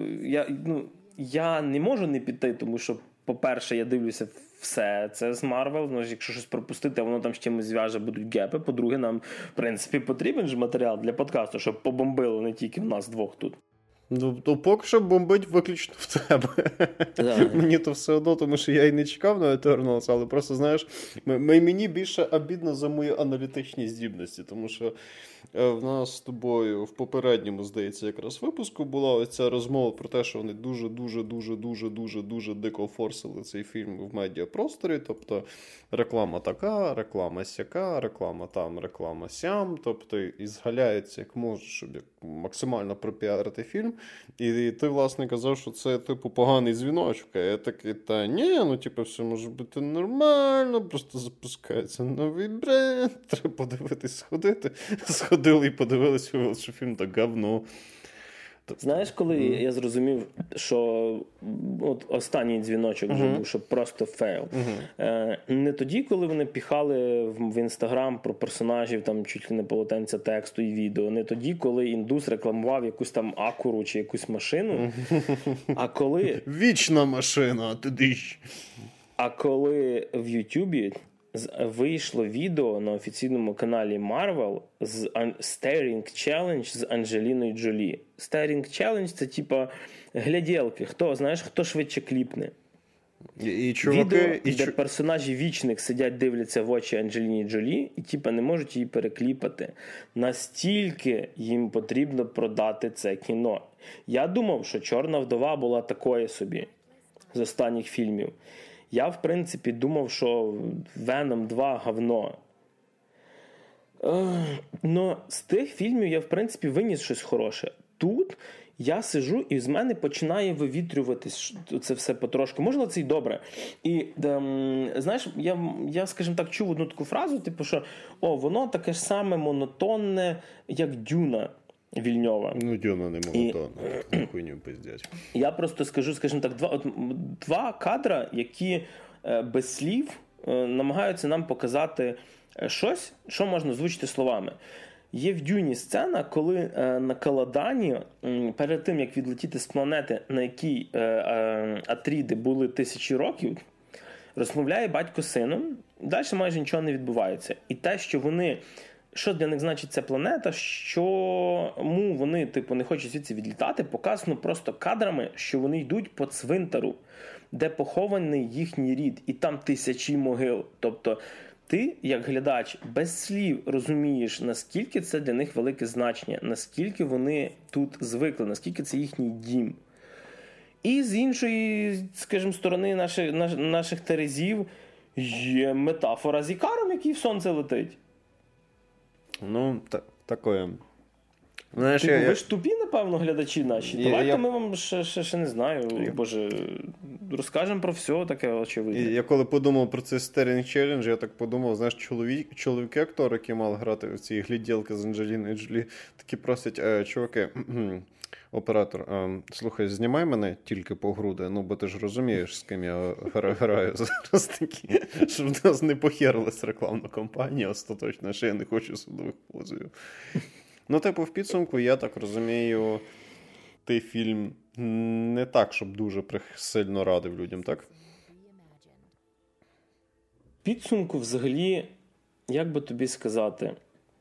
я не можу не піти, тому що, по-перше, я дивлюся все це з Marvel, якщо щось пропустити, воно там з чимось зв'яже, будуть гепи. По-друге, нам, в принципі, потрібен ж матеріал для подкасту, щоб побомбило не тільки в нас двох тут. То поки що бомбить виключно в тебе. Мені то все одно, тому що я і не чекав на Eternals, але просто, знаєш, мені більше обідно за мої аналітичні здібності, тому що в нас з тобою в попередньому, здається, якраз випуску була оця розмова про те, що вони дуже дико форсили цей фільм в медіапросторі, тобто реклама така, реклама сяка, реклама там, реклама сям, тобто і згаляються як можуть, щоб максимально пропіарити фільм. І ти, власне, казав, що це, поганий дзвіночок. А я такий, все може бути нормально, просто запускається новий бренд, треба подивитись, сходити. Сходили і подивилися, що фільм так говно. Знаєш, коли я зрозумів, що останній дзвіночок вже був, що просто фейл. Не тоді, коли вони піхали в Інстаграм про персонажів, там чуть ли не полотенця тексту і відео, не тоді, коли індус рекламував якусь там Акуру чи якусь машину, а коли... Вічна машина, туди ж. А коли в Ютубі вийшло відео на офіційному каналі Marvel з Staring Challenge з Анджеліною Джолі. Staring Challenge – це гляділки. Хто швидше кліпне. Відео, де персонажі вічних сидять, дивляться в очі Анджеліні Джолі і не можуть її перекліпати. Настільки їм потрібно продати це кіно. Я думав, що «Чорна вдова» була такою собі з останніх фільмів. Я, в принципі, думав, що Venom 2 говно. Но з тих фільмів я, в принципі, виніс щось хороше. Тут я сижу і з мене починає вивітрюватись це все потрошку. Можливо, це й добре. І, знаєш, я, скажімо так, чув одну таку фразу, що воно таке ж саме монотонне, як Дюна Вільньова. Дюна не монотонна. Хуйню пиздять. Я просто скажу, скажімо так, два кадра, які без слів намагаються нам показати щось, що можна озвучити словами. Є в Дюні сцена, коли на Каладані, перед тим, як відлетіти з планети, на якій Атріди були 1000 років, розмовляє батько з сином, далі майже нічого не відбувається. І те, що вони, що для них значить ця планета, чому вони не хочуть звідси відлітати, показано просто кадрами, що вони йдуть по цвинтару, де похований їхній рід, і там 1000 могил. Тобто ти, як глядач, без слів розумієш, наскільки це для них велике значення, наскільки вони тут звикли, наскільки це їхній дім. І з іншої, скажімо, сторони наших терезів є метафора з Ікаром, який в сонце летить. Ну, такое. Знаєш, ви ж тупі, напевно, глядачі наші. Давайте ми вам ще не знаю, Боже, розкажемо про все таке очевидне. Я коли подумав про цей Starring Challenge, я так подумав, знаєш, чоловіки-актори, які мали грати в ці гляділки з Анджеліною Джолі, такі просять, чуваки, оператор, слухай, знімай мене тільки по груди, ну, бо ти ж розумієш, з ким я граю зараз такі, щоб в нас не похерилась рекламна кампанія остаточно, що я не хочу судових позовів. Ну, в підсумку, я так розумію, ти фільм не так, щоб дуже сильно радив людям, так? Підсумку, взагалі, як би тобі сказати,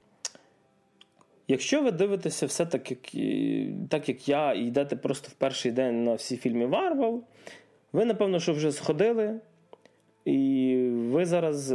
якщо ви дивитеся все так, як я, і йдете просто в перший день на всі фільми Марвел, ви, напевно, що вже сходили, і ви зараз,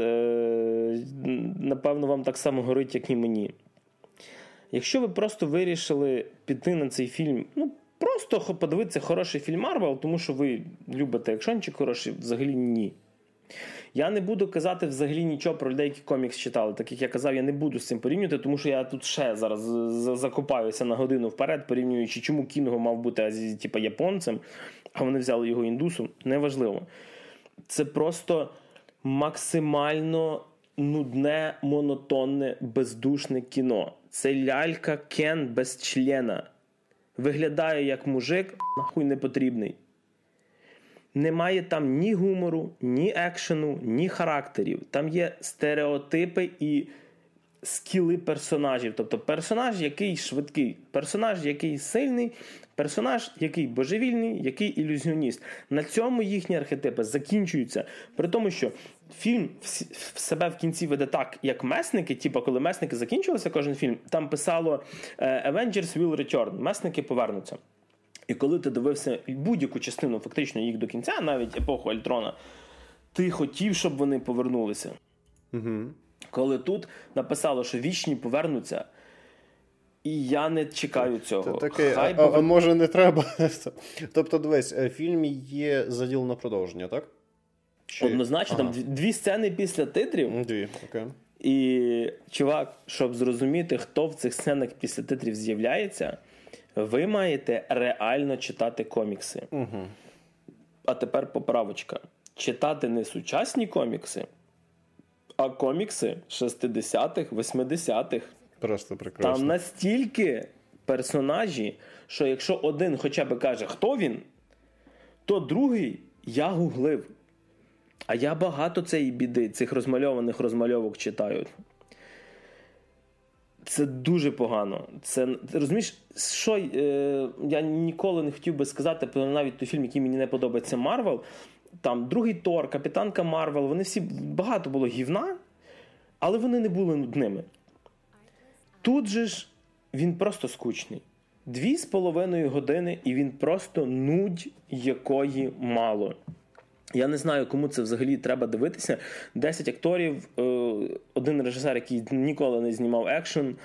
напевно, вам так само горить, як і мені. Якщо ви просто вирішили піти на цей фільм, просто подивитися хороший фільм Марвел, тому що ви любите екшончик хороший, взагалі ні. Я не буду казати взагалі нічого про людей, які комікс читали. Так як я казав, я не буду з цим порівнювати, тому що я тут ще зараз закопаюся на годину вперед, порівнюючи, чому Кінго мав бути японцем, а вони взяли його індусом. Неважливо. Це просто максимально нудне, монотонне, бездушне кіно. Це лялька Кен без члена. Виглядає як мужик, нахуй не потрібний. Немає там ні гумору, ні екшену, ні характерів. Там є стереотипи і скіли персонажів. Тобто персонаж, який швидкий, персонаж, який сильний, персонаж, який божевільний, який ілюзіоніст. На цьому їхні архетипи закінчуються. При тому, що фільм в себе в кінці веде так, як Месники, коли Месники закінчилися кожен фільм, там писало Avengers will return, Месники повернуться. І коли ти дивився будь-яку частину фактично їх до кінця, навіть епоху Альтрона, ти хотів, щоб вони повернулися. Угу. Коли тут написало, що вічні повернуться, і я не чекаю цього. А може не треба? Тобто, дивись, фільм є заділ на продовження, так? Однозначно, там 2 сцени після титрів. 2, окей. І, чувак, щоб зрозуміти, хто в цих сценах після титрів з'являється, ви маєте реально читати комікси. Угу. А тепер поправочка. Читати не сучасні комікси, а комікси 60-х, 80-х. Просто прекрасно. Там настільки персонажі, що якщо один хоча б каже, хто він, то другий я гуглив. А я багато цієї біди, цих розмальованих розмальовок читаю. Це дуже погано. Це, розумієш, що я ніколи не хотів би сказати про навіть той фільм, який мені не подобається, Марвел. Там другий Тор, Капітанка Марвел, вони всі, багато було гівна, але вони не були нудними. Тут же ж він просто скучний. 2,5 години, і він просто нудь, якої мало. Я не знаю, кому це взагалі треба дивитися. 10 акторів, один режисер, який ніколи не знімав екшен.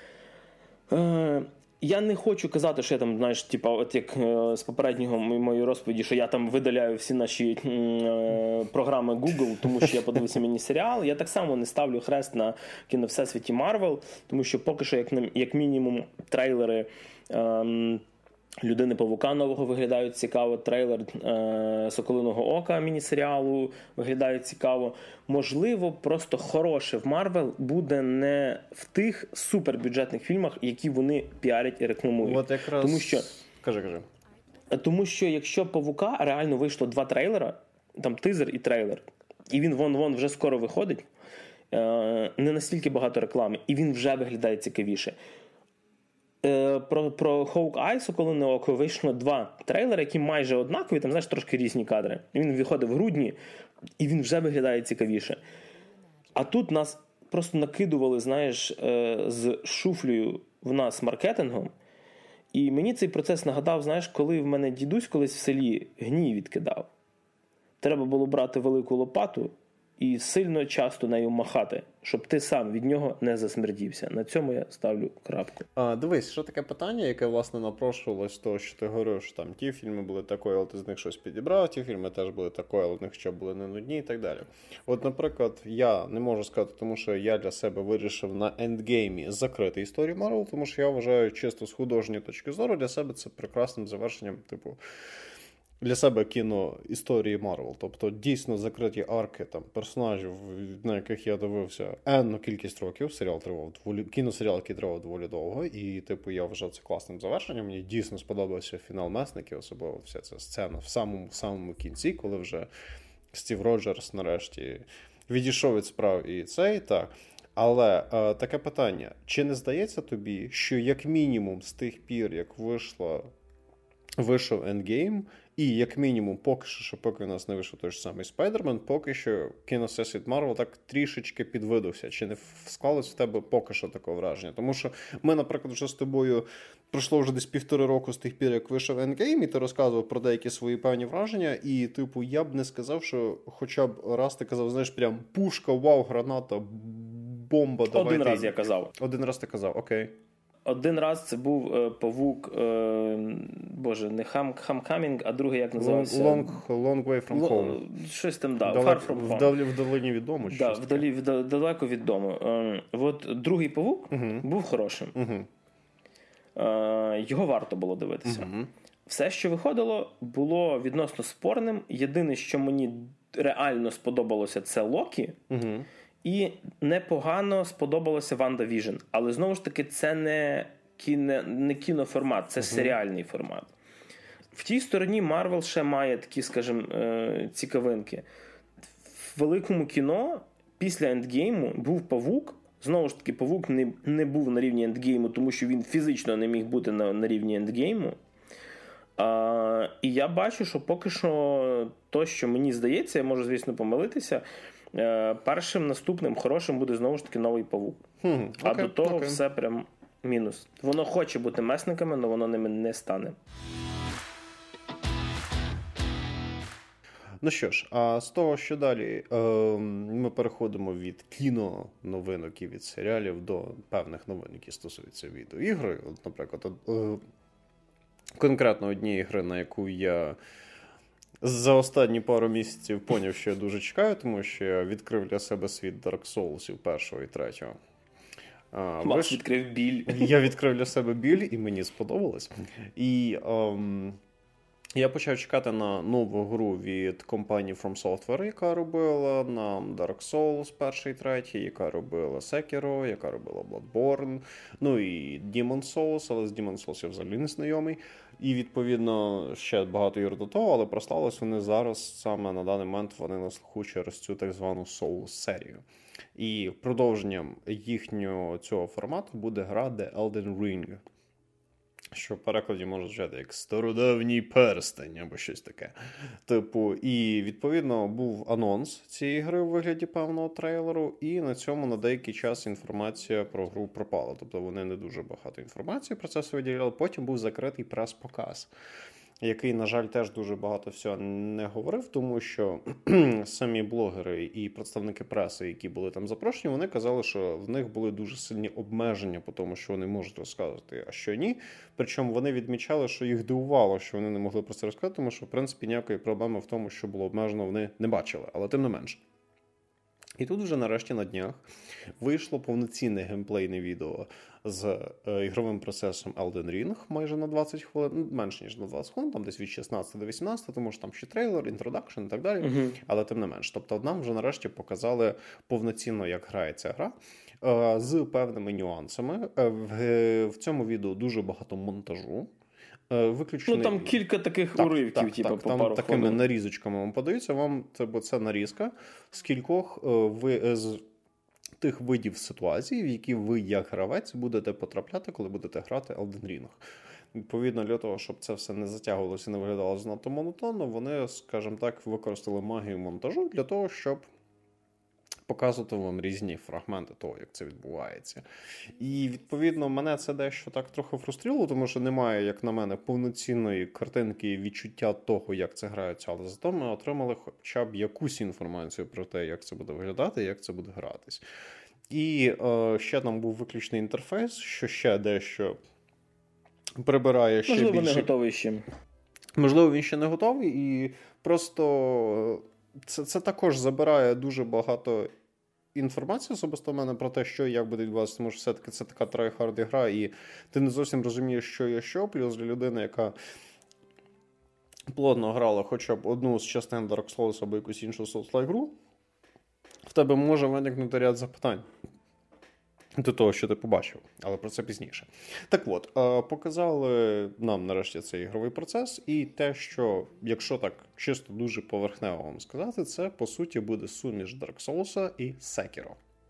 Я не хочу казати, що я там, знаєш, от як з попереднього моєї розповіді, що я там видаляю всі наші програми Google, тому що я подивився міні-серіал. Я так само не ставлю хрест на кіно Всесвіті Марвел, тому що поки що, як мінімум, трейлери Людини-павука нового виглядають цікаво, трейлер Соколиного Ока міні-серіалу виглядає цікаво. Можливо, просто хороше в Марвел буде не в тих супербюджетних фільмах, які вони піарять і рекламують. От якраз... Тому що... Кажи. Тому що якщо Павука реально вийшло 2 трейлера, там тизер і трейлер, і він вон вже скоро виходить, не настільки багато реклами, і він вже виглядає цікавіше. Про Hawkeye, Соколине око, вийшло 2 трейлери, які майже однакові, там, знаєш, трошки різні кадри. Він виходив в грудні, і він вже виглядає цікавіше. А тут нас просто накидували, знаєш, з шуфлею в нас маркетингом. І мені цей процес нагадав, знаєш, коли в мене дідусь колись в селі гній відкидав. Треба було брати велику лопату і сильно часто нею махати, щоб ти сам від нього не засмердівся. На цьому я ставлю крапку. Дивись, що таке питання, яке, власне, напрошувалось з того, що ти говорив, що там ті фільми були такої, але ти з них щось підібрав, ті фільми теж були такої, але в них ще були не нудні і так далі. От, наприклад, я не можу сказати, тому що я для себе вирішив на ендгеймі закрити історію Марвел, тому що я вважаю чисто з художньої точки зору для себе це прекрасним завершенням, типу, для себе кіно історії Марвел. Тобто дійсно закриті арки там, персонажів, на яких я дивився енну кількість років. Кіносеріал, який тривав доволі довго. І типу я вважав це класним завершенням. Мені дійсно сподобався фінал Месників, особливо вся ця сцена в самому кінці, коли вже Стів Роджерс нарешті відійшов від справ і цей, так. Але таке питання. Чи не здається тобі, що як мінімум з тих пір, як вийшов Endgame, і як мінімум поки у нас не вийшов той ж самий Спайдермен, поки що кіносесвіт Марвел так трішечки підвидався. Чи не склалось в тебе поки що таке враження? Тому що ми, наприклад, вже з тобою пройшло вже десь 1,5 року з тих пір, як вийшов Endgame, і ти розказував про деякі свої певні враження, і, типу, я б не сказав, що хоча б раз ти казав, знаєш, прям пушка, вау, граната, бомба, давайте. Один раз я казав. Один раз ти казав, окей. Один раз це був павук, не Homecoming, а другий як називався? Long Way From Home. Щось там, да, Far From Home. Вдалині від дому? Да, далеко від дому. От другий павук був хорошим. Його варто було дивитися. Все, що виходило, було відносно спорним. Єдине, що мені реально сподобалося, це Локі. І непогано сподобалося Ванда Віжн. Але, знову ж таки, це не кіноформат, це серіальний формат. В тій стороні Марвел ще має такі, скажімо, цікавинки. В великому кіно після Ендгейму був Павук. Знову ж таки, Павук не був на рівні Ендгейму, тому що він фізично не міг бути на рівні Ендгейму. І я бачу, що поки що то, що мені здається, я можу, звісно, помилитися, першим наступним хорошим буде знову ж таки новий Павук. А до того все прям мінус. Воно хоче бути месниками, але воно ними не стане. Ну що ж, а з того, що далі, ми переходимо від кіноновинок і від серіалів до певних новин, які стосуються відеоігри. От, наприклад, конкретно однієї гри, на яку я за останні пару місяців поняв, що я дуже чекаю, тому що я відкрив для себе світ Dark Souls'ів 1 і 3. Макс відкрив біль. Я відкрив для себе біль, і мені сподобалось. І я почав чекати на нову гру від компанії From Software, яка робила нам Dark Souls 1 і 3, яка робила Sekiro, яка робила Bloodborne, ну і Demon's Souls, але з Demon's Souls я взагалі не знайомий. І, відповідно, ще багато ігор до того, але прославились вони зараз, саме на даний момент, вони на слуху через цю так звану Souls-серію. І продовженням їхнього цього формату буде гра The Elden Ring, що в перекладі може звучати як «стародавній перстень» або щось таке. Типу, і, відповідно, був анонс цієї гри у вигляді певного трейлеру, і на цьому на деякий час інформація про гру пропала. Тобто вони не дуже багато інформації про це виділяли. Потім був закритий прес-показ, який, на жаль, теж дуже багато всього не говорив, тому що самі блогери і представники преси, які були там запрошені, вони казали, що в них були дуже сильні обмеження по тому, що вони можуть розказувати, а що ні. Причому вони відмічали, що їх дивувало, що вони не могли про це розказати, тому що, в принципі, ніякої проблеми в тому, що було обмежено, вони не бачили, але тим не менше. І тут вже нарешті на днях вийшло повноцінне геймплейне відео з ігровим процесом Elden Ring майже на 20 хвилин, менше ніж на 20 хвилин, там десь від 16 до 18, тому що там ще трейлер, інтродакшн і так далі, але тим не менш. Тобто нам вже нарешті показали повноцінно, як грається гра, з певними нюансами. В цьому відео дуже багато монтажу. Ну, там кілька таких уривків, типу, по пару такими хвилин. нарізочками вам подаються. Бо це нарізка з кількох тих видів ситуацій, в які ви, як гравець, будете потрапляти, коли будете грати Elden Ring. Відповідно, для того, щоб це все не затягувалося і не виглядало занадто монотонно, вони, скажімо так, використали магію монтажу для того, щоб показувати вам різні фрагменти того, як це відбувається. І, відповідно, мене це дещо так трохи фруструвало, тому що немає, як на мене, повноцінної картинки і відчуття того, як це грається, але зато ми отримали хоча б якусь інформацію про те, як це буде виглядати і як це буде гратись. І ще там був виключний інтерфейс, що ще дещо прибирає ще можливо, більше. Не готовий ще. Можливо, він ще не готовий, і просто це також забирає дуже багато інформації особисто в мене про те, що і як буде відбуватися, тому що все-таки це така трайхард гра, і ти не зовсім розумієш, що є що, плюс для людини, яка плотно грала хоча б одну з частин Dark Souls або якусь іншу Souls-like гру, в тебе може виникнути ряд запитань до того, що ти побачив, але про це пізніше. Так от, показали нам нарешті цей ігровий процес, і те, що, якщо так чисто дуже поверхнево вам сказати, це, по суті, буде суміш Dark Souls і Sekiro.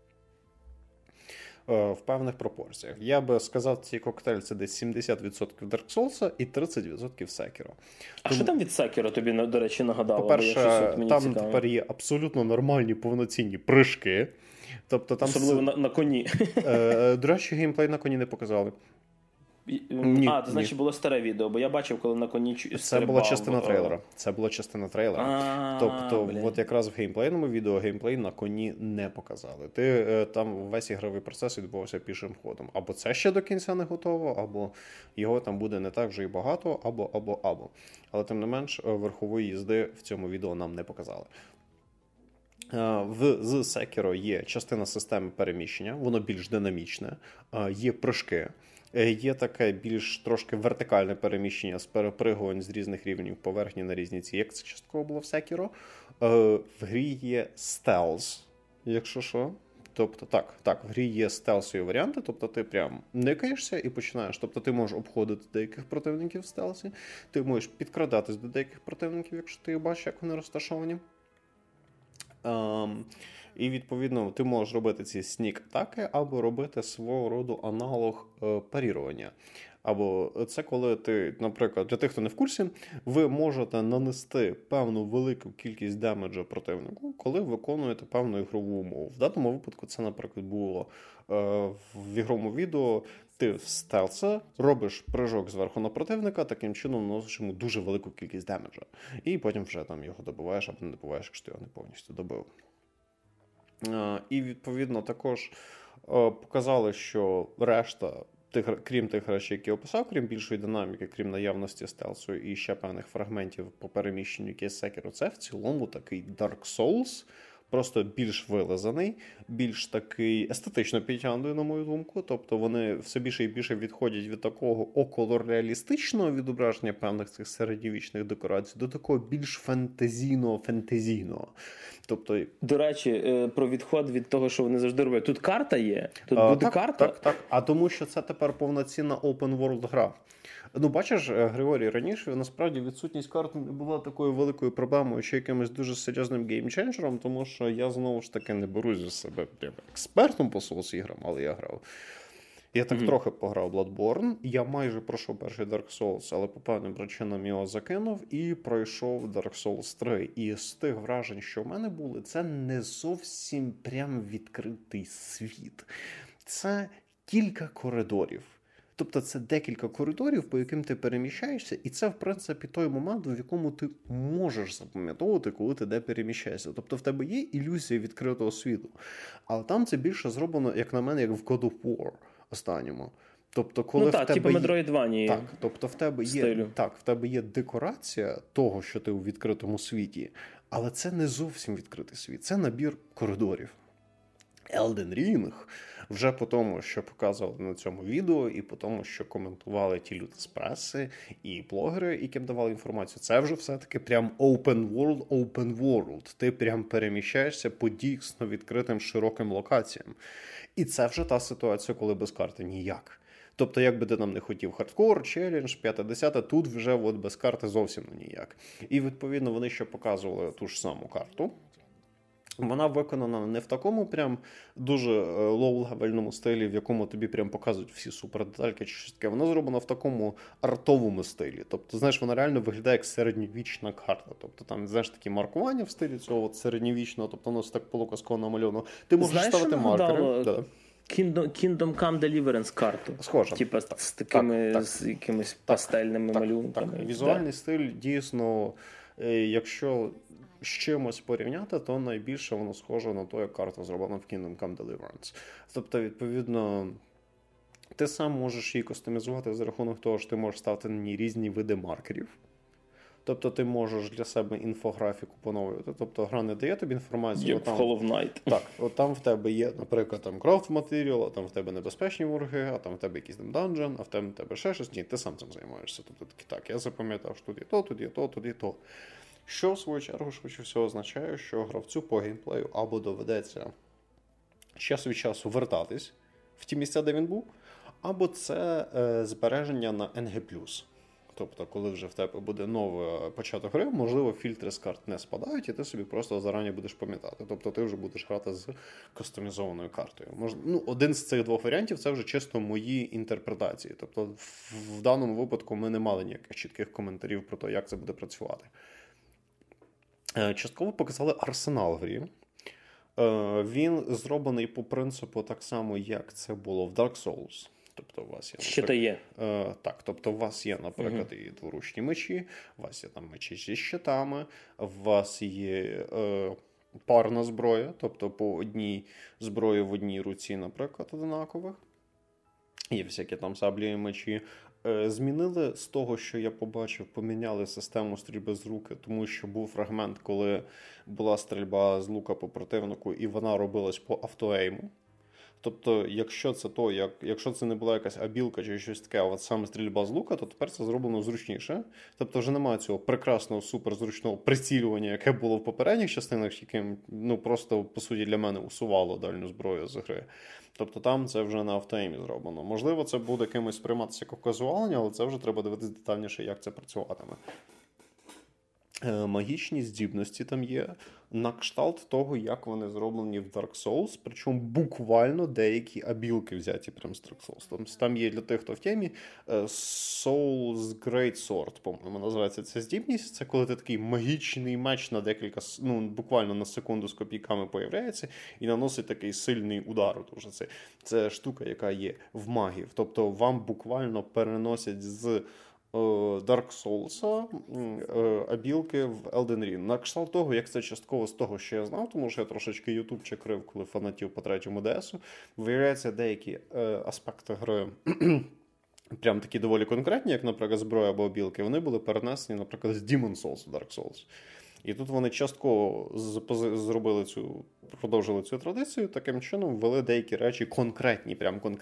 В певних пропорціях. Я би сказав, цей коктейль це десь 70% Dark Souls і 30% Sekiro. А що там від Sekiro тобі, до речі, нагадало? По-перше, там цікаво. Тепер є абсолютно нормальні, повноцінні прыжки. Тобто там особливо на коні. До речі, геймплей на коні не показали. Це значить було старе відео, бо я бачив, коли на коні стрибав. Це була частина трейлера. Тобто, от якраз в геймплейному відео геймплей на коні не показали. Там весь ігровий процес відбувався пішим ходом. Або це ще до кінця не готово, або його там буде не так вже і багато, або. Але тим не менш, верхової їзди в цьому відео нам не показали. З Sekiro є частина системи переміщення, воно більш динамічне, є прыжки, є таке більш трошки вертикальне переміщення з перепригувань з різних рівнів поверхні на різні ці, як це частково було в Sekiro. В грі є стелс, якщо що. Тобто, так, в грі є стелсові варіанти, тобто ти прям никаєшся і починаєш. Тобто ти можеш обходити деяких противників в стелсі, ти можеш підкрадатись до деяких противників, якщо ти бачиш, як вони розташовані. І, відповідно, ти можеш робити ці снік-атаки або робити свого роду аналог парірування. Або це коли ти, наприклад, для тих, хто не в курсі, ви можете нанести певну велику кількість демеджа противнику, коли виконуєте певну ігрову умову. В даному випадку це, наприклад, було в ігровому відео. Ти в стелса робиш прыжок зверху на противника, таким чином наносиш йому дуже велику кількість демеджа. І потім вже там його добиваєш або не добиваєш, якщо ти його не повністю добив. І, відповідно, також показали, що решта, крім тих речей, які я описав, крім більшої динаміки, крім наявності стелсу і ще певних фрагментів по переміщенню, які Sekiro, це в цілому такий Dark Souls, просто більш вилизаний, більш такий естетично підтягнутий, на мою думку. Тобто вони все більше і більше відходять від такого околореалістичного відображення певних цих середньовічних декорацій до такого більш фентезійного. Тобто... До речі, про відход від того, що вони завжди роблять. Тут карта є? Тут буде карта? Так. А тому, що це тепер повноцінна open-world гра. Ну, бачиш, Григорій, раніше насправді відсутність карт не була такою великою проблемою, чи якимось дуже серйозним геймченджером, тому що я, знову ж таки, не берусь за себе експертом по Souls-іграм, але я грав. Я так трохи пограв Bloodborne, я майже пройшов перший Dark Souls, але по певним причинам його закинув і пройшов Dark Souls 3. І з тих вражень, що в мене були, це не зовсім прям відкритий світ. Це кілька коридорів. Тобто це декілька коридорів, по яким ти переміщаєшся, і це, в принципі, той момент, в якому ти можеш запам'ятовувати, коли ти де переміщаєшся. Тобто в тебе є ілюзія відкритого світу. Але там це більше зроблено, як на мене, як в God of War останньому. Тобто, коли в тебе типу Metroidvania. Так, тобто в тебе є декорація того, що ти у відкритому світі, але це не зовсім відкритий світ, це набір коридорів. Elden Ring, вже по тому, що показували на цьому відео, і по тому, що коментували ті люди з преси і блогери, яким давали інформацію, це вже все-таки прям open world. Ти прям переміщаєшся по дійсно відкритим широким локаціям. І це вже та ситуація, коли без карти ніяк. Тобто, як би ти нам не хотів хардкор, челендж, 5-10, тут вже от без карти зовсім ніяк. І, відповідно, вони ще показували ту ж саму карту. Вона виконана не в такому прям дуже лоу-левельному стилі, в якому тобі прям показують всі супердетальки чи щось таке. Вона зроблена в такому артовому стилі. Тобто, знаєш, вона реально виглядає як середньовічна карта. Тобто там, знаєш, такі маркування в стилі цього от середньовічного, тобто воно так полуказково намальовано. Ти можеш ставити маркери. Да. Kingdom Come Deliverance карту. Схоже. Типа з такими, з якимись пастельними малюнками. Так. Візуальний стиль дійсно, якщо з чимось порівняти, то найбільше воно схоже на те, як карта зроблена в Kingdom Come Deliverance. Тобто, відповідно, ти сам можеш її кастомізувати за рахунок того, що ти можеш ставити на ній різні види маркерів. Тобто ти можеш для себе інфографіку поновлювати. Тобто гра не дає тобі інформацію. Як в Hollow Knight. Так, от там в тебе є, наприклад, там craft material, а там в тебе небезпечні вороги, а там в тебе якийсь там dungeon, а в тебе ще щось. Ні, ти сам цим займаєшся. Тобто так, я запам'ятав, що тут є то, тут є то, тут є то. Що, в свою чергу, швидше всього означає, що гравцю по геймплею або доведеться час від часу вертатись в ті місця, де він був, або це збереження на NG+. Тобто, коли вже в тебе буде новий початок гри, можливо, фільтри з карт не спадають, і ти собі просто зарані будеш пам'ятати. Тобто, ти вже будеш грати з кастомізованою картою. Один з цих двох варіантів – це вже чисто мої інтерпретації. Тобто, в даному випадку ми не мали ніяких чітких коментарів про те, як це буде працювати. Частково показали арсенал в грі. Він зроблений по принципу так само, як це було в Dark Souls. Тобто у вас є, Щита є. Так, тобто у вас є, наприклад, і дворучні мечі, у вас є там мечі зі щитами, у вас є парна зброя, тобто по одній зброї в одній руці, наприклад, одинакових. Є всякі там саблі і мечі. Змінили з того, що я побачив, поміняли систему стрільби з руки, тому що був фрагмент, коли була стрільба з лука по противнику, і вона робилась по автоейму. Тобто, якщо це не була якась абілка чи щось таке, а от саме стрільба з лука, то тепер це зроблено зручніше. Тобто вже немає цього прекрасного, суперзручного прицілювання, яке було в попередніх частинах, яким просто, по суті, для мене усувало дальню зброю з гри. Тобто там це вже на автоеймі зроблено. Можливо, це буде кимось сприйматися як казуалення, але це вже треба дивитися детальніше, як це працюватиме. Магічні здібності там є на кшталт того, як вони зроблені в Dark Souls, причому буквально деякі абілки взяті прямо з Dark Souls. Там є для тих, хто в темі, Soul's Great Sword, по-моєму, називається ця здібність. Це коли ти такий магічний меч на декілька, буквально на секунду з копійками появляється і наносить такий сильний удар. Це штука, яка є в магів. Тобто вам буквально переносять з Dark Souls абілки в Elden Ring. На кшталт того, як це частково з того, що я знав, тому що я трошечки ютубчик крив, коли фанатів по третьому ДСу, виявляється, деякі аспекти гри прям такі доволі конкретні, як, наприклад, зброя або абілки, вони були перенесені, наприклад, з Demon's Souls в Dark Souls. І тут вони частково продовжили цю традицію, таким чином ввели деякі речі конкретні,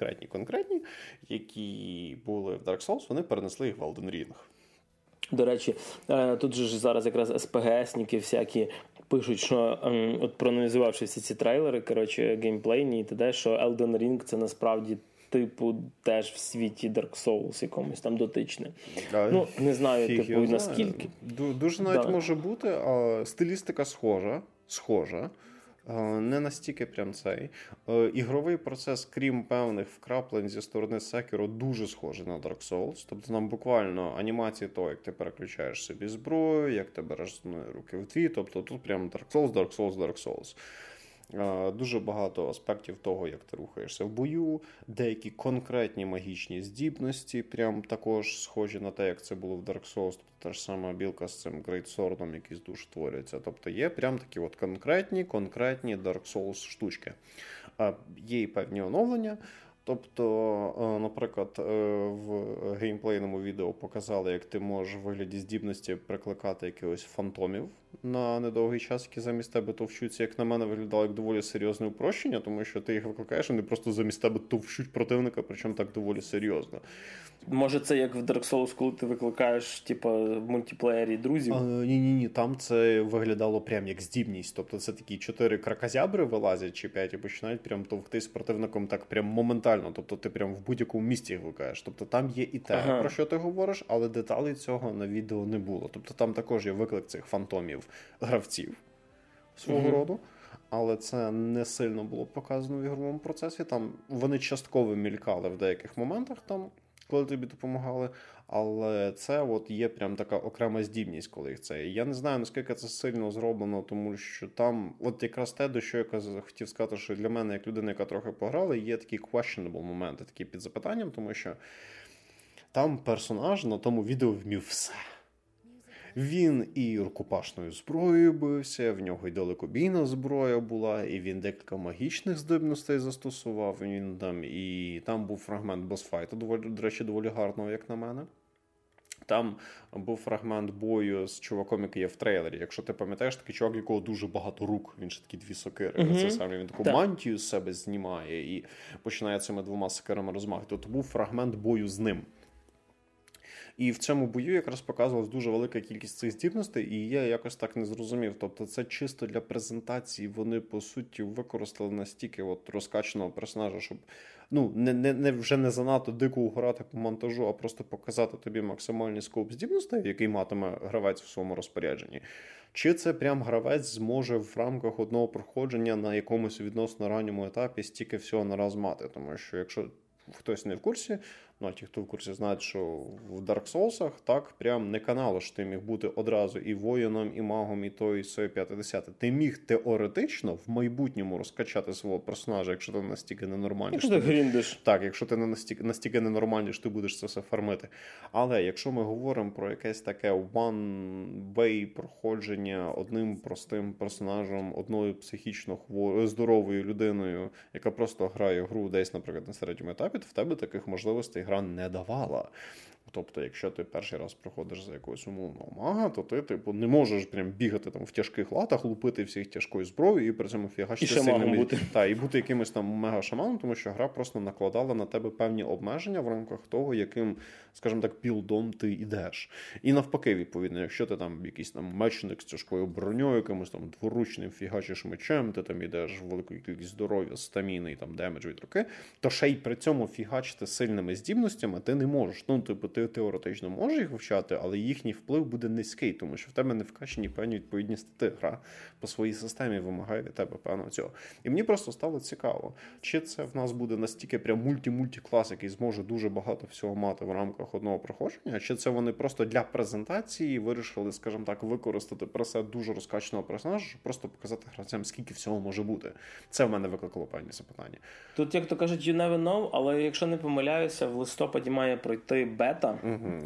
які були в Dark Souls, вони перенесли їх в Elden Ring. До речі, тут же ж зараз якраз СПГСники всякі пишуть, що от проаналізувавши всі ці трейлери, геймплейні і т.д., що Elden Ring це насправді типу теж в світі Dark Souls якомусь там дотичне. Не знаю, наскільки. Дуже навіть може бути, а стилістика схожа. Не настільки прям цей. Ігровий процес, крім певних вкраплень зі сторони Sekiro, дуже схожий на Dark Souls. Тобто нам буквально анімації того, як ти переключаєш собі зброю, як ти береш руки в дві. Тобто тут прям Dark Souls. Дуже багато аспектів того, як ти рухаєшся в бою, деякі конкретні магічні здібності, прям також схожі на те, як це було в Dark Souls, тобто та ж сама білка з цим Great Sword'ом, який з душ творюється. Тобто є прям такі от конкретні Dark Souls штучки. Є і певні оновлення. Тобто, наприклад, в геймплейному відео показали, як ти можеш в вигляді здібності прикликати якихось фантомів на недовгий час, які замість тебе товчуться. Як на мене, виглядало як доволі серйозне упрощення, тому що ти їх викликаєш, вони просто замість тебе товчуть противника, причому так доволі серйозно. Може це як в Dark Souls, коли ти викликаєш в мультиплеєрі друзів? Ні, там це виглядало прям як здібність. Тобто це такі 4 кракозябри вилазять чи 5 і починають прям товктись противником так прям моментально. Тобто ти прям в будь-якому місці їх викликаєш. Тобто там є і те, про що ти говориш, але деталей цього на відео не було. Тобто там також є виклик цих фантомів гравців свого роду. але це не сильно було показано в ігровому процесі. Там вони частково мількали в деяких моментах, там, коли тобі допомагали, але це от є прям така окрема здібність, коли їх це. Я не знаю, наскільки це сильно зроблено, тому що там, от якраз те, до що я хотів сказати, що для мене, як людина, яка трохи пограла, є такі questionable моменти, такі під запитанням, тому що там персонаж на тому відео вмів все. Він і рукопашною зброєю бився, в нього і далекобійна зброя була, і він декілька магічних здібностей застосував. Він і там був фрагмент босфайту, до речі, доволі гарного, як на мене. Там був фрагмент бою з чуваком, який є в трейлері. Якщо ти пам'ятаєш, такий чувак, якого дуже багато рук, він ще такі 2 сокири. Це саме він таку мантію з себе знімає і починає цими 2 сокирами розмахувати. То був фрагмент бою з ним. І в цьому бою якраз показувалась дуже велика кількість цих здібностей, і я якось так не зрозумів. Тобто це чисто для презентації, вони, по суті, використали настільки от розкачаного персонажа, щоб вже не занадто дико угорати по монтажу, а просто показати тобі максимальний скоп здібностей, який матиме гравець в своєму розпорядженні. Чи це прям гравець зможе в рамках одного проходження на якомусь відносно ранньому етапі стільки всього нараз мати? Тому що якщо хтось не в курсі, а ті, хто в курсі, знають, що в Dark Souls'ах так прям не канало, що ти міг бути одразу і воїном, і магом, і то, і сьо, і 50. Ти міг теоретично в майбутньому розкачати свого персонажа, якщо ти настільки ненормальний. Якщо ти гріндиш. Так, якщо ти настільки ненормальний, що ти будеш це все фармити. Але якщо ми говоримо про якесь таке one-way проходження одним простим персонажем, одною психічно здоровою людиною, яка просто грає гру десь, наприклад, на середньому етапі, то в тебе таких можливостей гра не давала. Тобто, якщо ти перший раз проходиш за якогось умовного мага, то ти не можеш прям бігати там в тяжких латах, лупити всіх тяжкою зброєю і при цьому фігачити сильними бути. І бути якимось там мега-шаманом, тому що гра просто накладала на тебе певні обмеження в рамках того, яким, скажімо так, білдом ти йдеш. І навпаки, відповідно, якщо ти там якийсь там мечник з тяжкою броньою, якимось там дворучним фігачиш мечем, ти там йдеш в велику кількість здоров'я, стаміни і там демедж від руки, то ще й при цьому фігачити сильними здібностями ти не можеш. Ти теоретично можеш їх вивчати, але їхній вплив буде низький, тому що в тебе не вкачені певні відповідні стати. Гра по своїй системі вимагає від тебе певного цього. І мені просто стало цікаво, чи це в нас буде настільки прям мульті-клас, який зможе дуже багато всього мати в рамках одного проходження, чи це вони просто для презентації вирішили, скажімо так, використати пресет дуже розкачаного персонажа, щоб просто показати гравцям, скільки всього може бути. Це в мене викликало певні запитання. Тут, як то кажуть, you never know, але якщо не помиляюся, в листопаді має пройти бета,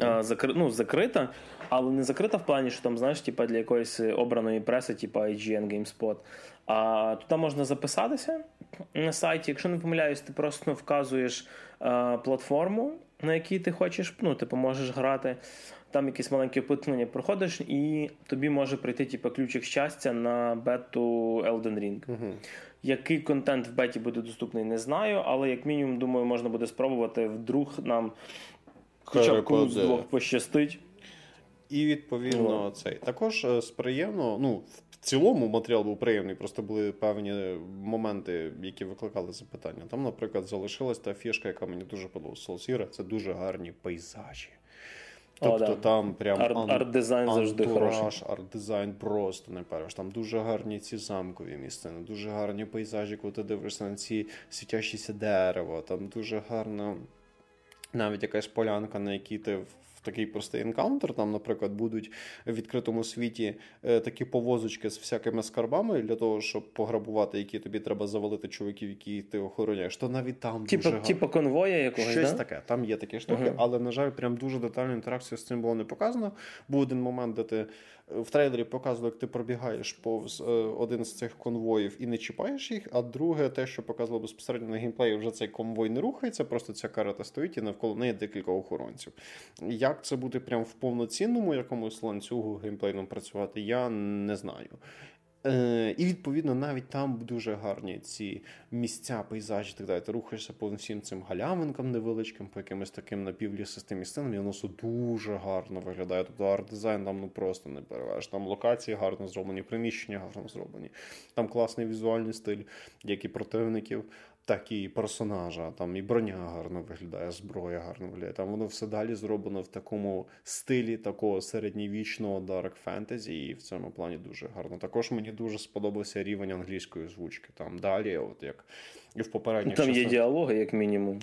закрита, але не закрита в плані, що там, знаєш, типа для якоїсь обраної преси, типа IGN, GameSpot. А туди можна записатися на сайті. Якщо не помиляюсь, ти просто вказуєш платформу, на якій ти хочеш, можеш грати. Там якісь маленькі опитування проходиш, і тобі може прийти типу, ключик щастя на бету Elden Ring. Який контент в беті буде доступний, не знаю, але як мінімум, думаю, можна буде спробувати, вдруг нам хоча б комусь з двох пощастить. І відповідно цей. Також приємно, в цілому матеріал був приємний, просто були певні моменти, які викликали запитання. Там, наприклад, залишилась та фішка, яка мені дуже подобалася. Soul Sierra – це дуже гарні пейзажі. Тобто там прям арт-дизайн завжди хороший. Арт-дизайн просто не перш. Там дуже гарні ці замкові місцини, дуже гарні пейзажі, коли ти дивишся на ці світящіся дерева, там дуже гарна навіть якась полянка, на якій ти в такий простий енкаунтер, там, наприклад, будуть в відкритому світі такі повозочки з всякими скарбами для того, щоб пограбувати, які тобі треба завалити чуваків, які ти охороняєш, то навіть там дуже гарно. Типа конвоя якогось, щось таке, там є такі штуки, але, на жаль, прям дуже детальну інтеракцію з цим було не показано. Був один момент, де ти в трейлері показували, як ти пробігаєш повз один з цих конвоїв і не чіпаєш їх, а друге, те, що показувало безпосередньо на геймплеї, вже цей конвой не рухається, просто ця карета стоїть і навколо неї декілька охоронців. Як це буде прям в повноцінному якомусь ланцюгу геймплейному працювати, я не знаю. І, відповідно, навіть там дуже гарні ці місця, пейзажі і так далі. Ти рухаєшся по всім цим галявинкам невеличким, по якимось таким напівлісистим місцинам, і воно все дуже гарно виглядає. Тобто арт-дизайн там просто не переважиш. Там локації гарно зроблені, приміщення гарно зроблені. Там класний візуальний стиль, як і противників, так і персонажа, там і броня гарно виглядає, зброя гарно виглядає. Там воно все далі зроблено в такому стилі такого середньовічного dark fantasy, і в цьому плані дуже гарно. Також мені дуже сподобався рівень англійської озвучки. Там далі, от як і в попередніх там є діалоги, як мінімум.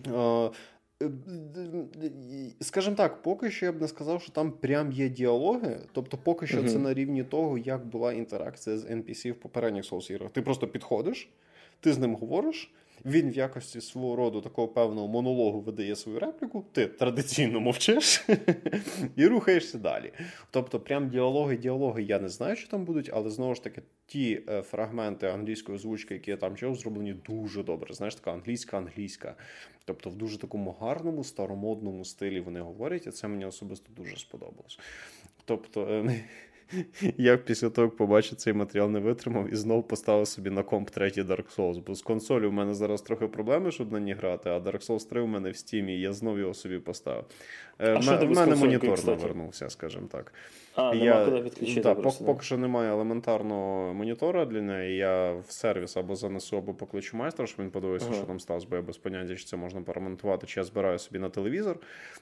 Скажімо так, поки що я б не сказав, що там прям є діалоги, тобто поки що це на рівні того, як була інтеракція з NPC в попередніх Souls-іграх. Ти просто підходиш, ти з ним говориш, він в якості свого роду такого певного монологу видає свою репліку, ти традиційно мовчиш і рухаєшся далі. Тобто прям діалоги я не знаю, що там будуть, але знову ж таки ті фрагменти англійської озвучки, які я там чув, зроблені дуже добре. Знаєш, така англійська. Тобто в дуже такому гарному, старомодному стилі вони говорять, і це мені особисто дуже сподобалось. Тобто я після того, як побачив цей матеріал, не витримав і знов поставив собі на комп третій Dark Souls, бо з консолі в мене зараз трохи проблеми, щоб на ній грати, а Dark Souls 3 у мене в Стімі, і я знов його собі поставив. В мене монітор навернувся, скажімо так. Нема куди підключити. Поки що немає елементарного монітора для неї, я в сервіс або занесу, або покличу майстра, щоб він подивився, що там сталося, бо я без поняття, чи це можна перемонтувати, чи я збираю собі на телевізор.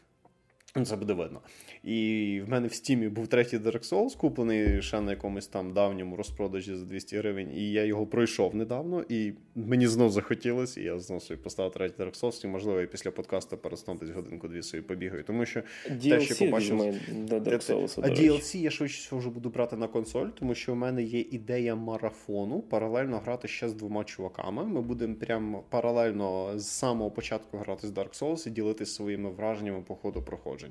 Це буде видно. І в мене в Стімі був третій Dark Souls, куплений ще на якомусь там давньому розпродажі за 200 гривень, і я його пройшов недавно, і мені знов захотілося, і я знов собі поставив третій Dark Souls, і, можливо, я після подкасту перед десь годинку-дві собі побігаю, тому що те, що побачив... до Dark Souls, а DLC я швидше всього вже буду брати на консоль, тому що в мене є ідея марафону, паралельно грати ще з 2 чуваками, ми будемо прямо паралельно з самого початку грати з Dark Souls і ділитися своїми враженнями по ходу проходження.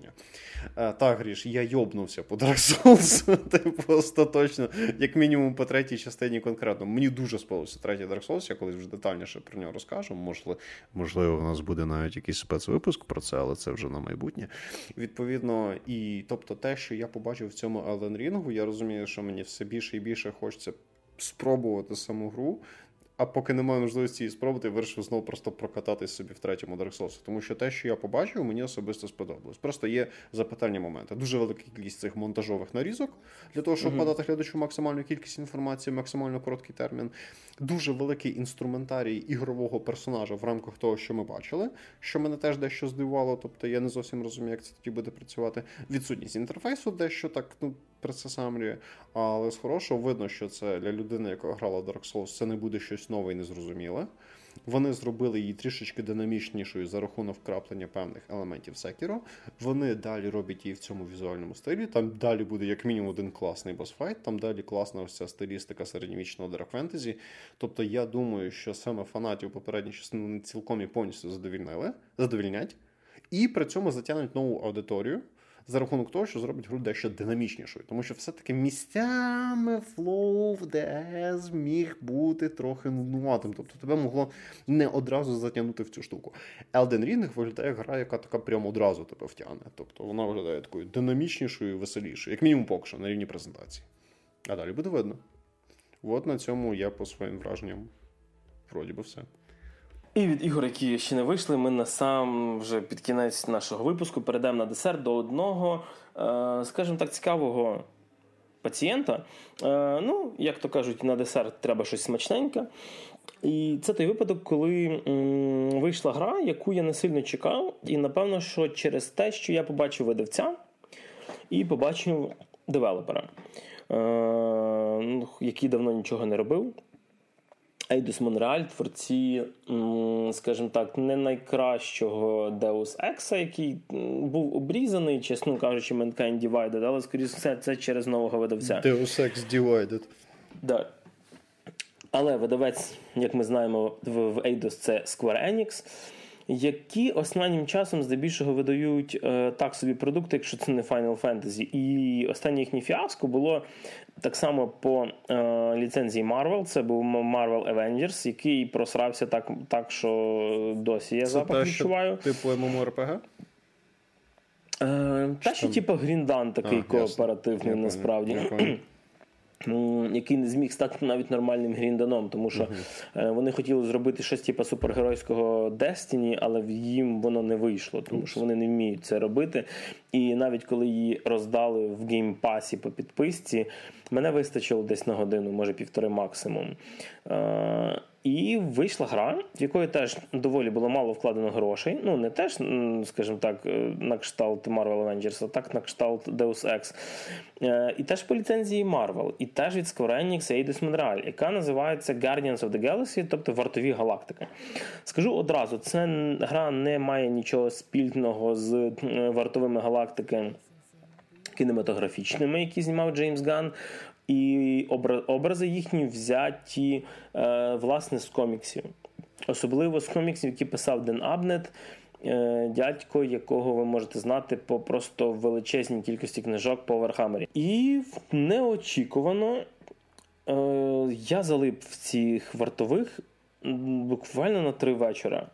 Так, Гріш, я йобнувся по Dark Souls, типу, остаточно, як мінімум по третій частині конкретно. Мені дуже сподобався третій Dark Souls, я колись вже детальніше про нього розкажу. Можливо, в нас буде навіть якийсь спецвипуск про це, але це вже на майбутнє. Відповідно, і тобто те, що я побачив в цьому Elden Ring, я розумію, що мені все більше і більше хочеться спробувати саму гру. А поки немає можливості її спробувати, я вирішив знову просто прокататись собі в третьому Dark Souls. Тому що те, що я побачив, мені особисто сподобалось. Просто є запитальні моменти. Дуже велика кількість цих монтажових нарізок, для того, щоб подати глядачу максимальну кількість інформації, максимально короткий термін. Дуже великий інструментарій ігрового персонажа в рамках того, що ми бачили, що мене теж дещо здивувало, тобто я не зовсім розумію, як це тоді буде працювати. Відсутність інтерфейсу дещо так, присасамлює, але з хорошого видно, що це для людини, яка грала Dark Souls, це не буде щось нове і незрозуміле. Вони зробили її трішечки динамічнішою за рахунок вкраплення певних елементів Sekiro. Вони далі роблять її в цьому візуальному стилі. Там далі буде як мінімум один класний босфайт, там далі класна ось ця стилістика середньовічного Dark Fantasy. Тобто я думаю, що саме фанатів попередньої частини цілком і повністю задовільнять. І при цьому затягнуть нову аудиторію за рахунок того, що зробить гру дещо динамічнішою. Тому що все-таки місцями флоу в DS міг бути трохи нуднуватим. Тобто тебе могло не одразу затягнути в цю штуку. Elden Ring виглядає гра, яка така прямо одразу тебе втягне. Тобто вона виглядає такою динамічнішою і веселішою. Як мінімум поки що, на рівні презентації. А далі буде видно. От на цьому я по своїм враженням вроді би все. І від ігор, які ще не вийшли, ми насам вже під кінець нашого випуску перейдемо на десерт до одного, скажімо так, цікавого пацієнта. Як то кажуть, на десерт треба щось смачненьке. І це той випадок, коли вийшла гра, яку я не сильно чекав. І, напевно, що через те, що я побачив видавця і побачив девелопера, який давно нічого не робив. Eidos Montreal, творці, скажімо так, не найкращого Deus Ex, який був обрізаний, чесно кажучи, Mankind Divided, але, скоріше все, це через нового видавця. Deus Ex Divided. Да. Але видавець, як ми знаємо, в Eidos це Square Enix, які останнім часом здебільшого видають так собі продукти, якщо це не Final Fantasy. І останнє їхнє фіаско було так само по ліцензії Marvel. Це був Marvel Avengers, який просрався так що досі я запах відчуваю. Це типу MMORPG? Та що типу Гріндан такий кооперативний насправді. Який не зміг стати навіть нормальним грінданом, тому що вони хотіли зробити щось типу супергеройського Destiny, але їм воно не вийшло, тому що вони не вміють це робити. І навіть коли її роздали в геймпасі по підписці, мене вистачило десь на годину, може 1,5 максимум. І вийшла гра, в якої теж доволі було мало вкладено грошей. Ну, не теж, скажімо так, на кшталт Marvel Avengers, а так на кшталт Deus Ex. І теж по ліцензії Marvel. І теж від Square Enix і Eidos Montreal, яка називається Guardians of the Galaxy, тобто Вартові галактики. Скажу одразу, ця гра не має нічого спільного з Вартовими галактики кінематографічними, які знімав Джеймс Ганн. І образи їхні взяті, власне, з коміксів. Особливо з коміксів, які писав Ден Абнет, дядько, якого ви можете знати по просто величезній кількості книжок по Вархаммері. І неочікувано я залип в цих вартових буквально на 3 вечора.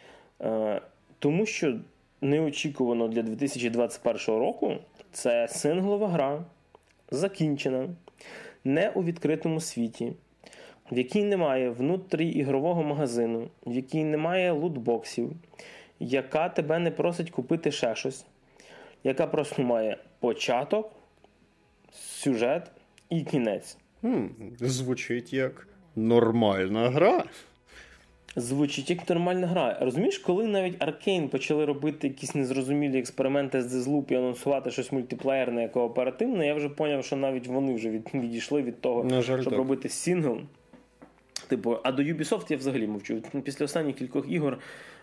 Тому що неочікувано для 2021 року це синглова гра, закінчена, не у відкритому світі, в якій немає внутріігрового магазину, в якій немає лутбоксів, яка тебе не просить купити ще щось, яка просто має початок, сюжет і кінець. Звучить як нормальна гра. Звучить як нормальна гра. Розумієш, коли навіть Arkane почали робити якісь незрозумілі експерименти з Deathloop і анонсувати щось мультиплеєрне, кооперативне, я вже поняв, що навіть вони вже відійшли від того, щоб робити сингл. Типу, а до Ubisoft я взагалі мовчу. Після останніх кількох ігор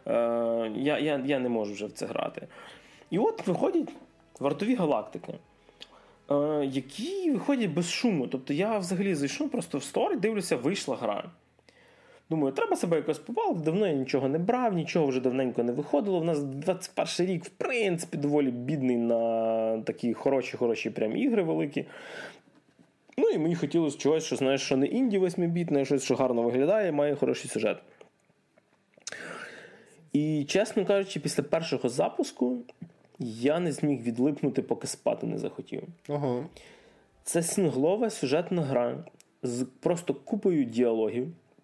я не можу вже в це грати. І от виходять Вартові галактики, які виходять без шуму. Тобто я взагалі зайшов просто в стор і дивлюся, вийшла гра. Думаю, треба себе якось побалити, давно я нічого не брав, нічого вже давненько не виходило. У нас 21 рік, в принципі, доволі бідний на такі хороші прям ігри великі. Ну і мені хотілося чогось, що, знаєш, що не інді 8-бітне, щось, що гарно виглядає, має хороший сюжет. І, чесно кажучи, після першого запуску я не зміг відлипнути, поки спати не захотів. Ага. Це синглова сюжетна гра з просто купою діалогів,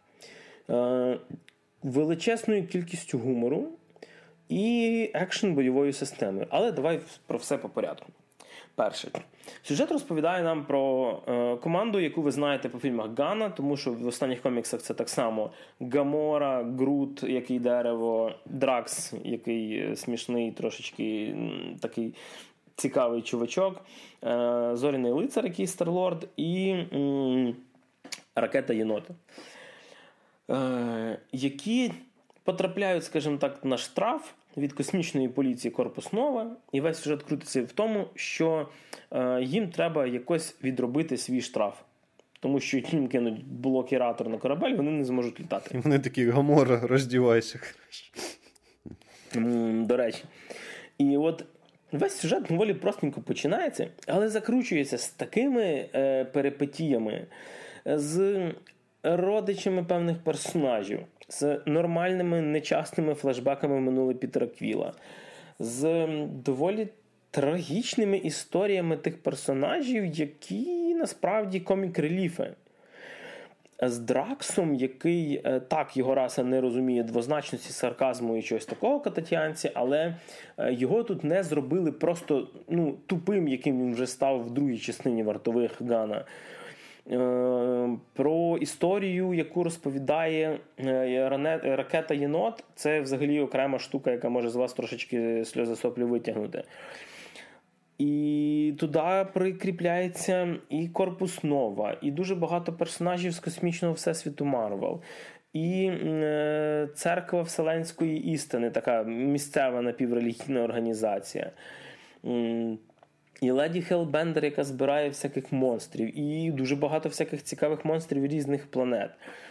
величезною кількістю гумору і екшн-бойовою системою. Але давай про все по порядку. Перше. Сюжет розповідає нам про команду, яку ви знаєте по фільмах Ганна, тому що в останніх коміксах це так само Гамора, Грут, який дерево, Дракс, який смішний, трошечки такий цікавий чувачок, Зоряний лицар, який Старлорд, і Ракета Єнота. Які потрапляють, скажімо так, на штраф від космічної поліції Корпус Нова, і весь сюжет крутиться в тому, що їм треба якось відробити свій штраф. Тому що їм кинуть блокіратор на корабель, вони не зможуть літати. І вони такі: Гамора, роздівайся. До речі. І от весь сюжет доволі простенько починається, але закручується з такими перипетіями, з родичами певних персонажів, з нормальними, нечастими флешбеками в минуле Пітера Квіла, з доволі трагічними історіями тих персонажів, які насправді комік-реліфи. З Драксом, який, так, його раса не розуміє двозначності, сарказму і чогось такого кататіанці, але його тут не зробили просто тупим, яким він вже став в другій частині Вартових Ганна. Про історію, яку розповідає Ракета Єнот, це взагалі окрема штука, яка може з вас трошечки сльози соплі витягнути. І туди прикріпляється і Корпус Нова, і дуже багато персонажів з космічного всесвіту Марвел, і Церква Вселенської істини, така місцева напіврелігійна організація. І Леді Хелбендер, яка збирає всяких монстрів, і дуже багато всяких цікавих монстрів різних планет.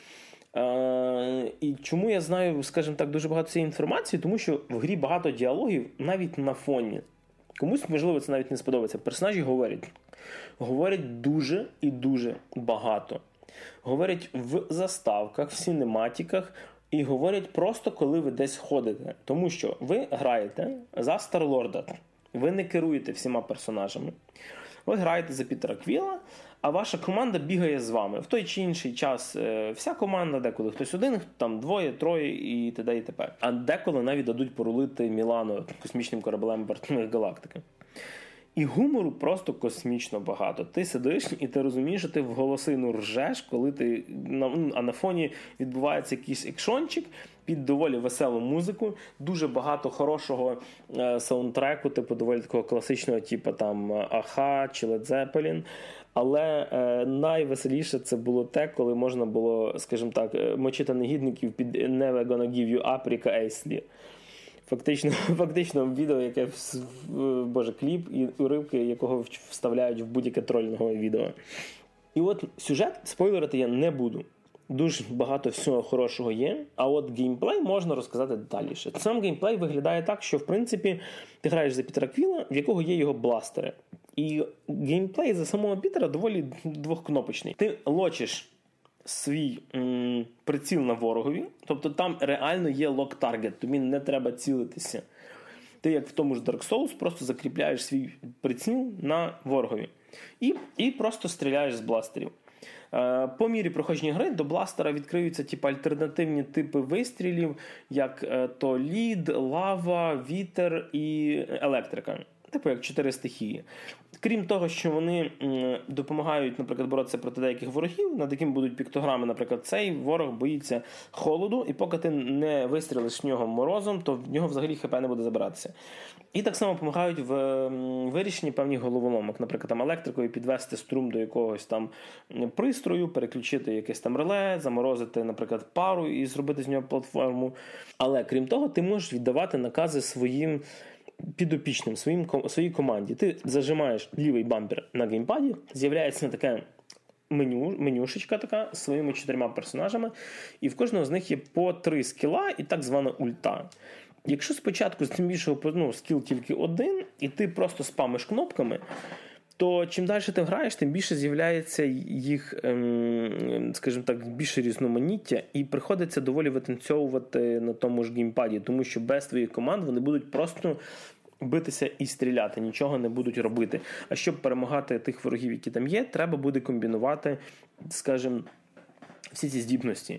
І чому я знаю, скажімо так, дуже багато цієї інформації? Тому що в грі багато діалогів навіть на фоні. Комусь, можливо, це навіть не сподобається. Персонажі говорять дуже і дуже багато. Говорять в заставках, в синематиках, і говорять просто, коли ви десь ходите. Тому що ви граєте за Старлорда. Ви не керуєте всіма персонажами. Ви граєте за Пітера Квіла, а ваша команда бігає з вами. В той чи інший час вся команда, деколи хтось один, там двоє, троє і т.д. і т.п. А деколи навіть дадуть порулити Мілану космічним кораблем Вартових Галактики. І гумору просто космічно багато. Ти сидиш і ти розумієш, що ти в голосину ржеш, коли ти а на фоні відбувається якийсь екшончик під доволі веселу музику, дуже багато хорошого саундтреку, типу доволі такого класичного, типу там Аха чи Led Zeppelin. Але найвеселіше це було те, коли можна було, скажімо так, мочити негідників під Never Gonna Give You Up Ріка Ейслі. Фактично відео, яке кліп і уривки, якого вставляють в будь-яке тролінгове відео. І от сюжет спойлерити я не буду. Дуже багато всього хорошого є, а от геймплей можна розказати детальніше. Сам геймплей виглядає так, що в принципі ти граєш за Пітера Квіла, в якого є його бластери. І геймплей за самого Пітера доволі двохкнопочний. Ти лочиш свій приціл на ворогові, тобто там реально є лок-таргет, тобі не треба цілитися. Ти, як в тому ж Dark Souls, просто закріпляєш свій приціл на ворогові. І просто стріляєш з бластерів. По мірі проходження гри до бластера відкриються альтернативні типи вистрілів, як то лід, лава, вітер і електрика. Типу як 4 стихії. Крім того, що вони допомагають, наприклад, боротися проти деяких ворогів, над якими будуть піктограми, наприклад, цей ворог боїться холоду, і поки ти не вистрілиш в нього морозом, то в нього взагалі ХП не буде забиратися. І так само допомагають в вирішенні певних головоломок, наприклад, там електрикою підвести струм до якогось там пристрою, переключити якесь там реле, заморозити, наприклад, пару і зробити з нього платформу. Але крім того, ти можеш віддавати накази своїм підопічним, своїй команді. Ти зажимаєш лівий бампер на геймпаді, з'являється таке менюшечка така з своїми 4 персонажами, і в кожного з них є по 3 скіла і так звана ульта. Якщо спочатку з більшого скіл тільки один, і ти просто спамиш кнопками, то чим далі ти граєш, тим більше з'являється їх, скажімо так, більше різноманіття, і приходиться доволі витанцьовувати на тому ж геймпаді, тому що без твоїх команд вони будуть просто битися і стріляти, нічого не будуть робити. А щоб перемагати тих ворогів, які там є, треба буде комбінувати, скажімо, всі ці здібності.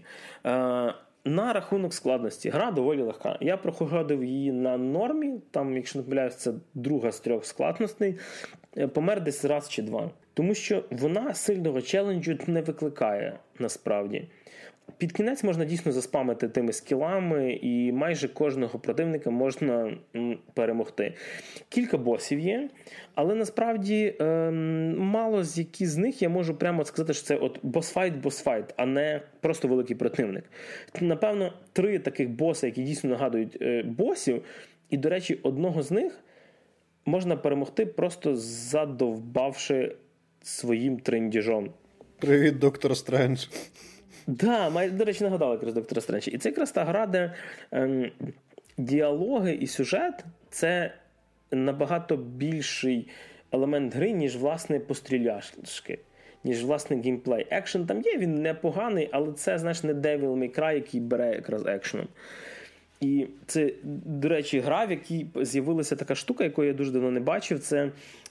На рахунок складності. Гра доволі легка. Я проходив її на нормі, там, якщо не помиляюсь, це 2 з 3 складностей. Помер десь раз чи 2. Тому що вона сильного челенджу не викликає, насправді. Під кінець можна дійсно заспамити тими скілами, і майже кожного противника можна перемогти. Кілька босів є, але насправді мало з які з них я можу прямо сказати, що це от босфайт, а не просто великий противник. Напевно, 3 таких боси, які дійсно нагадують босів, і, до речі, одного з них можна перемогти, просто задовбавши своїм трендіжом. Привіт, доктор Стрендж. Да, до речі, нагадали якраз доктора Стренджа. І це якраз та гра, де діалоги і сюжет – це набагато більший елемент гри, ніж, власне, постріляшки, ніж, власне, геймплей. Екшен там є, він непоганий, але це, знаєш, не Devil May Cry, який бере якраз екшеном. І це, до речі, гра, в якій з'явилася така штука, яку я дуже давно не бачив, це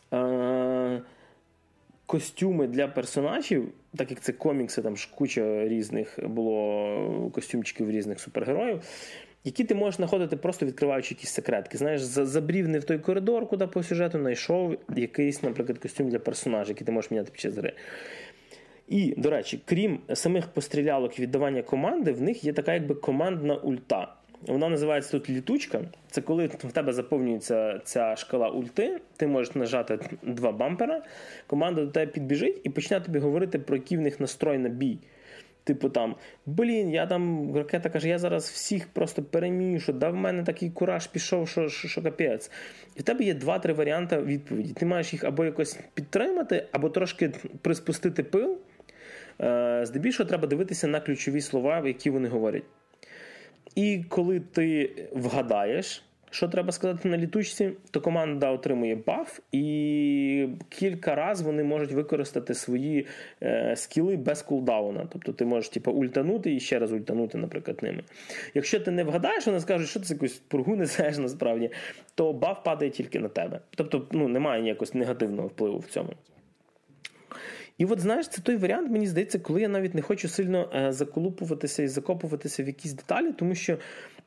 костюми для персонажів, так як це комікси, там ж куча різних було костюмчиків різних супергероїв, які ти можеш знаходити, просто відкриваючи якісь секретки. Знаєш, забрів не в той коридор, куди по сюжету знайшов якийсь, наприклад, костюм для персонажа, який ти можеш міняти під час гри. І, до речі, крім самих пострілялок і віддавання команди, в них є така якби командна ульта. Вона називається тут літучка. Це коли в тебе заповнюється ця шкала ульти, ти можеш нажати 2 бампера, команда до тебе підбіжить і почне тобі говорити про який в них настрой на бій. Типу там, я там, ракета каже, я зараз всіх просто перемішу, да в мене такий кураж пішов, що капець. І в тебе є 2-3 варіанти відповіді. Ти маєш їх або якось підтримати, або трошки приспустити пил. Здебільшого треба дивитися на ключові слова, які вони говорять. І коли ти вгадаєш, що треба сказати на літучці, то команда отримує баф, і кілька разів вони можуть використати свої скіли без кулдауна. Тобто ти можеш ультанути і ще раз ультанути, наприклад, ними. Якщо ти не вгадаєш, вони скажуть, що ти якусь пургу несеш насправді, то баф падає тільки на тебе. Тобто немає ніякого негативного впливу в цьому. І от, знаєш, це той варіант, мені здається, коли я навіть не хочу сильно заколупуватися і закопуватися в якісь деталі, тому що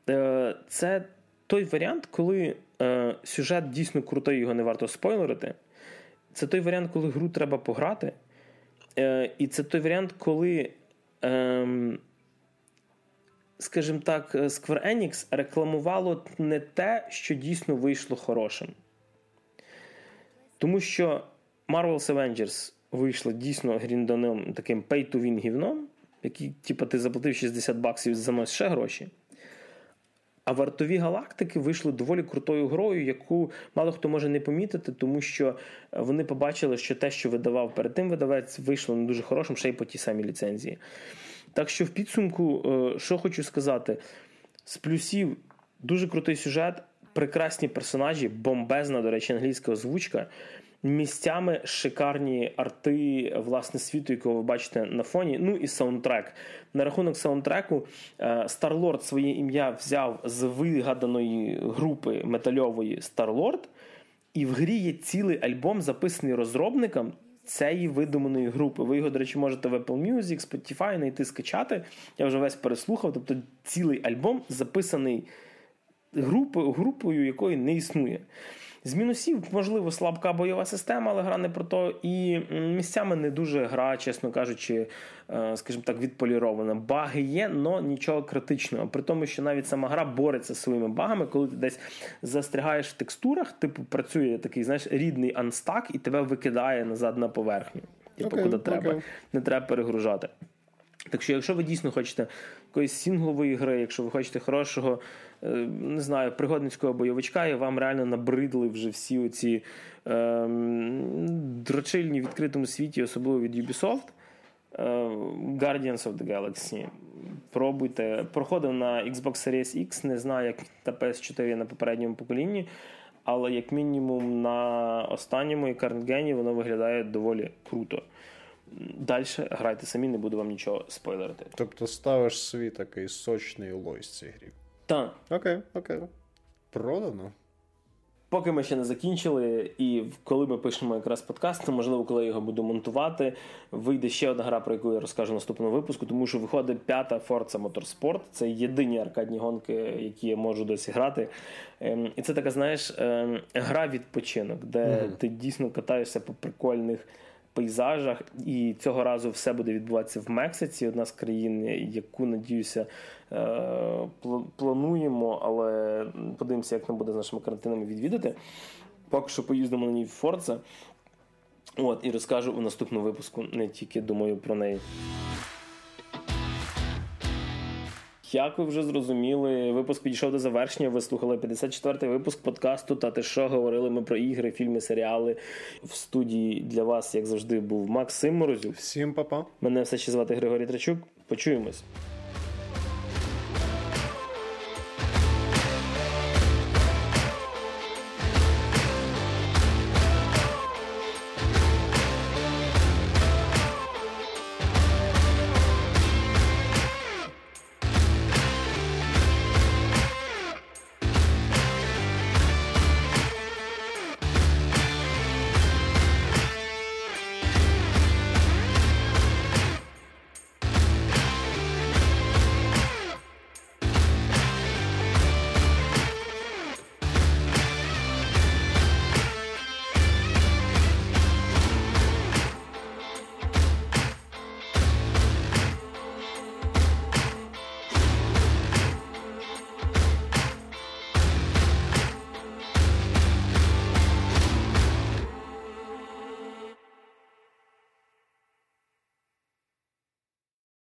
це той варіант, коли сюжет дійсно крутий, його не варто спойлерити, це той варіант, коли гру треба пограти, і це той варіант, коли, скажімо так, Square Enix рекламувало не те, що дійсно вийшло хорошим. Тому що Marvel's Avengers вийшла дійсно грінданим таким pay-to-win гівном, який, типу, ти заплатив $60 і заносиш ще гроші. А «Вартові галактики» вийшли доволі крутою грою, яку мало хто може не помітити, тому що вони побачили, що те, що видавав перед тим видавець, вийшло не дуже хорошим, ще й по тій самій ліцензії. Так що в підсумку, що хочу сказати, з плюсів дуже крутий сюжет, прекрасні персонажі, бомбезна, до речі, англійська озвучка, місцями шикарні арти, власне, світу, якого ви бачите на фоні, ну і саундтрек. На рахунок саундтреку, Star-Lord своє ім'я взяв з вигаданої групи метальової Star-Lord, і в грі є цілий альбом, записаний розробникам цієї видуманої групи. Ви його, до речі, можете в Apple Music, Spotify знайти, скачати. Я вже весь переслухав. Тобто цілий альбом записаний групою, якої не існує. З мінусів, можливо, слабка бойова система, але гра не про то. І місцями не дуже гра, чесно кажучи, скажімо так, відполірована. Баги є, але нічого критичного. При тому, що навіть сама гра бореться зі своїми багами, коли ти десь застрягаєш в текстурах, типу працює такий, знаєш, рідний анстак і тебе викидає назад на поверхню. Типу, куди треба. Не треба перегружати. Так що, якщо ви дійсно хочете якоїсь сінглової гри, якщо ви хочете хорошого, не знаю, пригодницького бойовичка, і вам реально набридли вже всі оці дрочильні в відкритому світі, особливо від Ubisoft, Guardians of the Galaxy. Пробуйте. Проходив на Xbox Series X, не знаю, як на PS4 на попередньому поколінні, але як мінімум на останньому і Current Gen воно виглядає доволі круто. Далі грайте самі, не буду вам нічого спойлерити. Тобто ставиш свій такий сочний лойс цій грі. Так. Окей. Продано. Поки ми ще не закінчили, і коли ми пишемо якраз подкаст, то, можливо, коли я його буду монтувати, вийде ще одна гра, про яку я розкажу в наступному випуску, тому що виходить 5-та Forza Motorsport. Це єдині аркадні гонки, які я можу досі грати. І це така, знаєш, гра-відпочинок, де ти дійсно катаєшся по прикольних пейзажах, і цього разу все буде відбуватися в Мексиці, одна з країн, яку, надіюся, плануємо, але подивимося, як нам буде з нашими карантинами відвідати. Поки що поїздимо на ній в Forza. І розкажу у наступному випуску, не тільки думаю про неї. Як ви вже зрозуміли, випуск підійшов до завершення. Ви слухали 54-й випуск подкасту «Та ти що?». Говорили ми про ігри, фільми, серіали. В студії для вас, як завжди, був Максим Морозюк. Всім па-па. Мене все ще звати Григорій Трачук. Почуємось.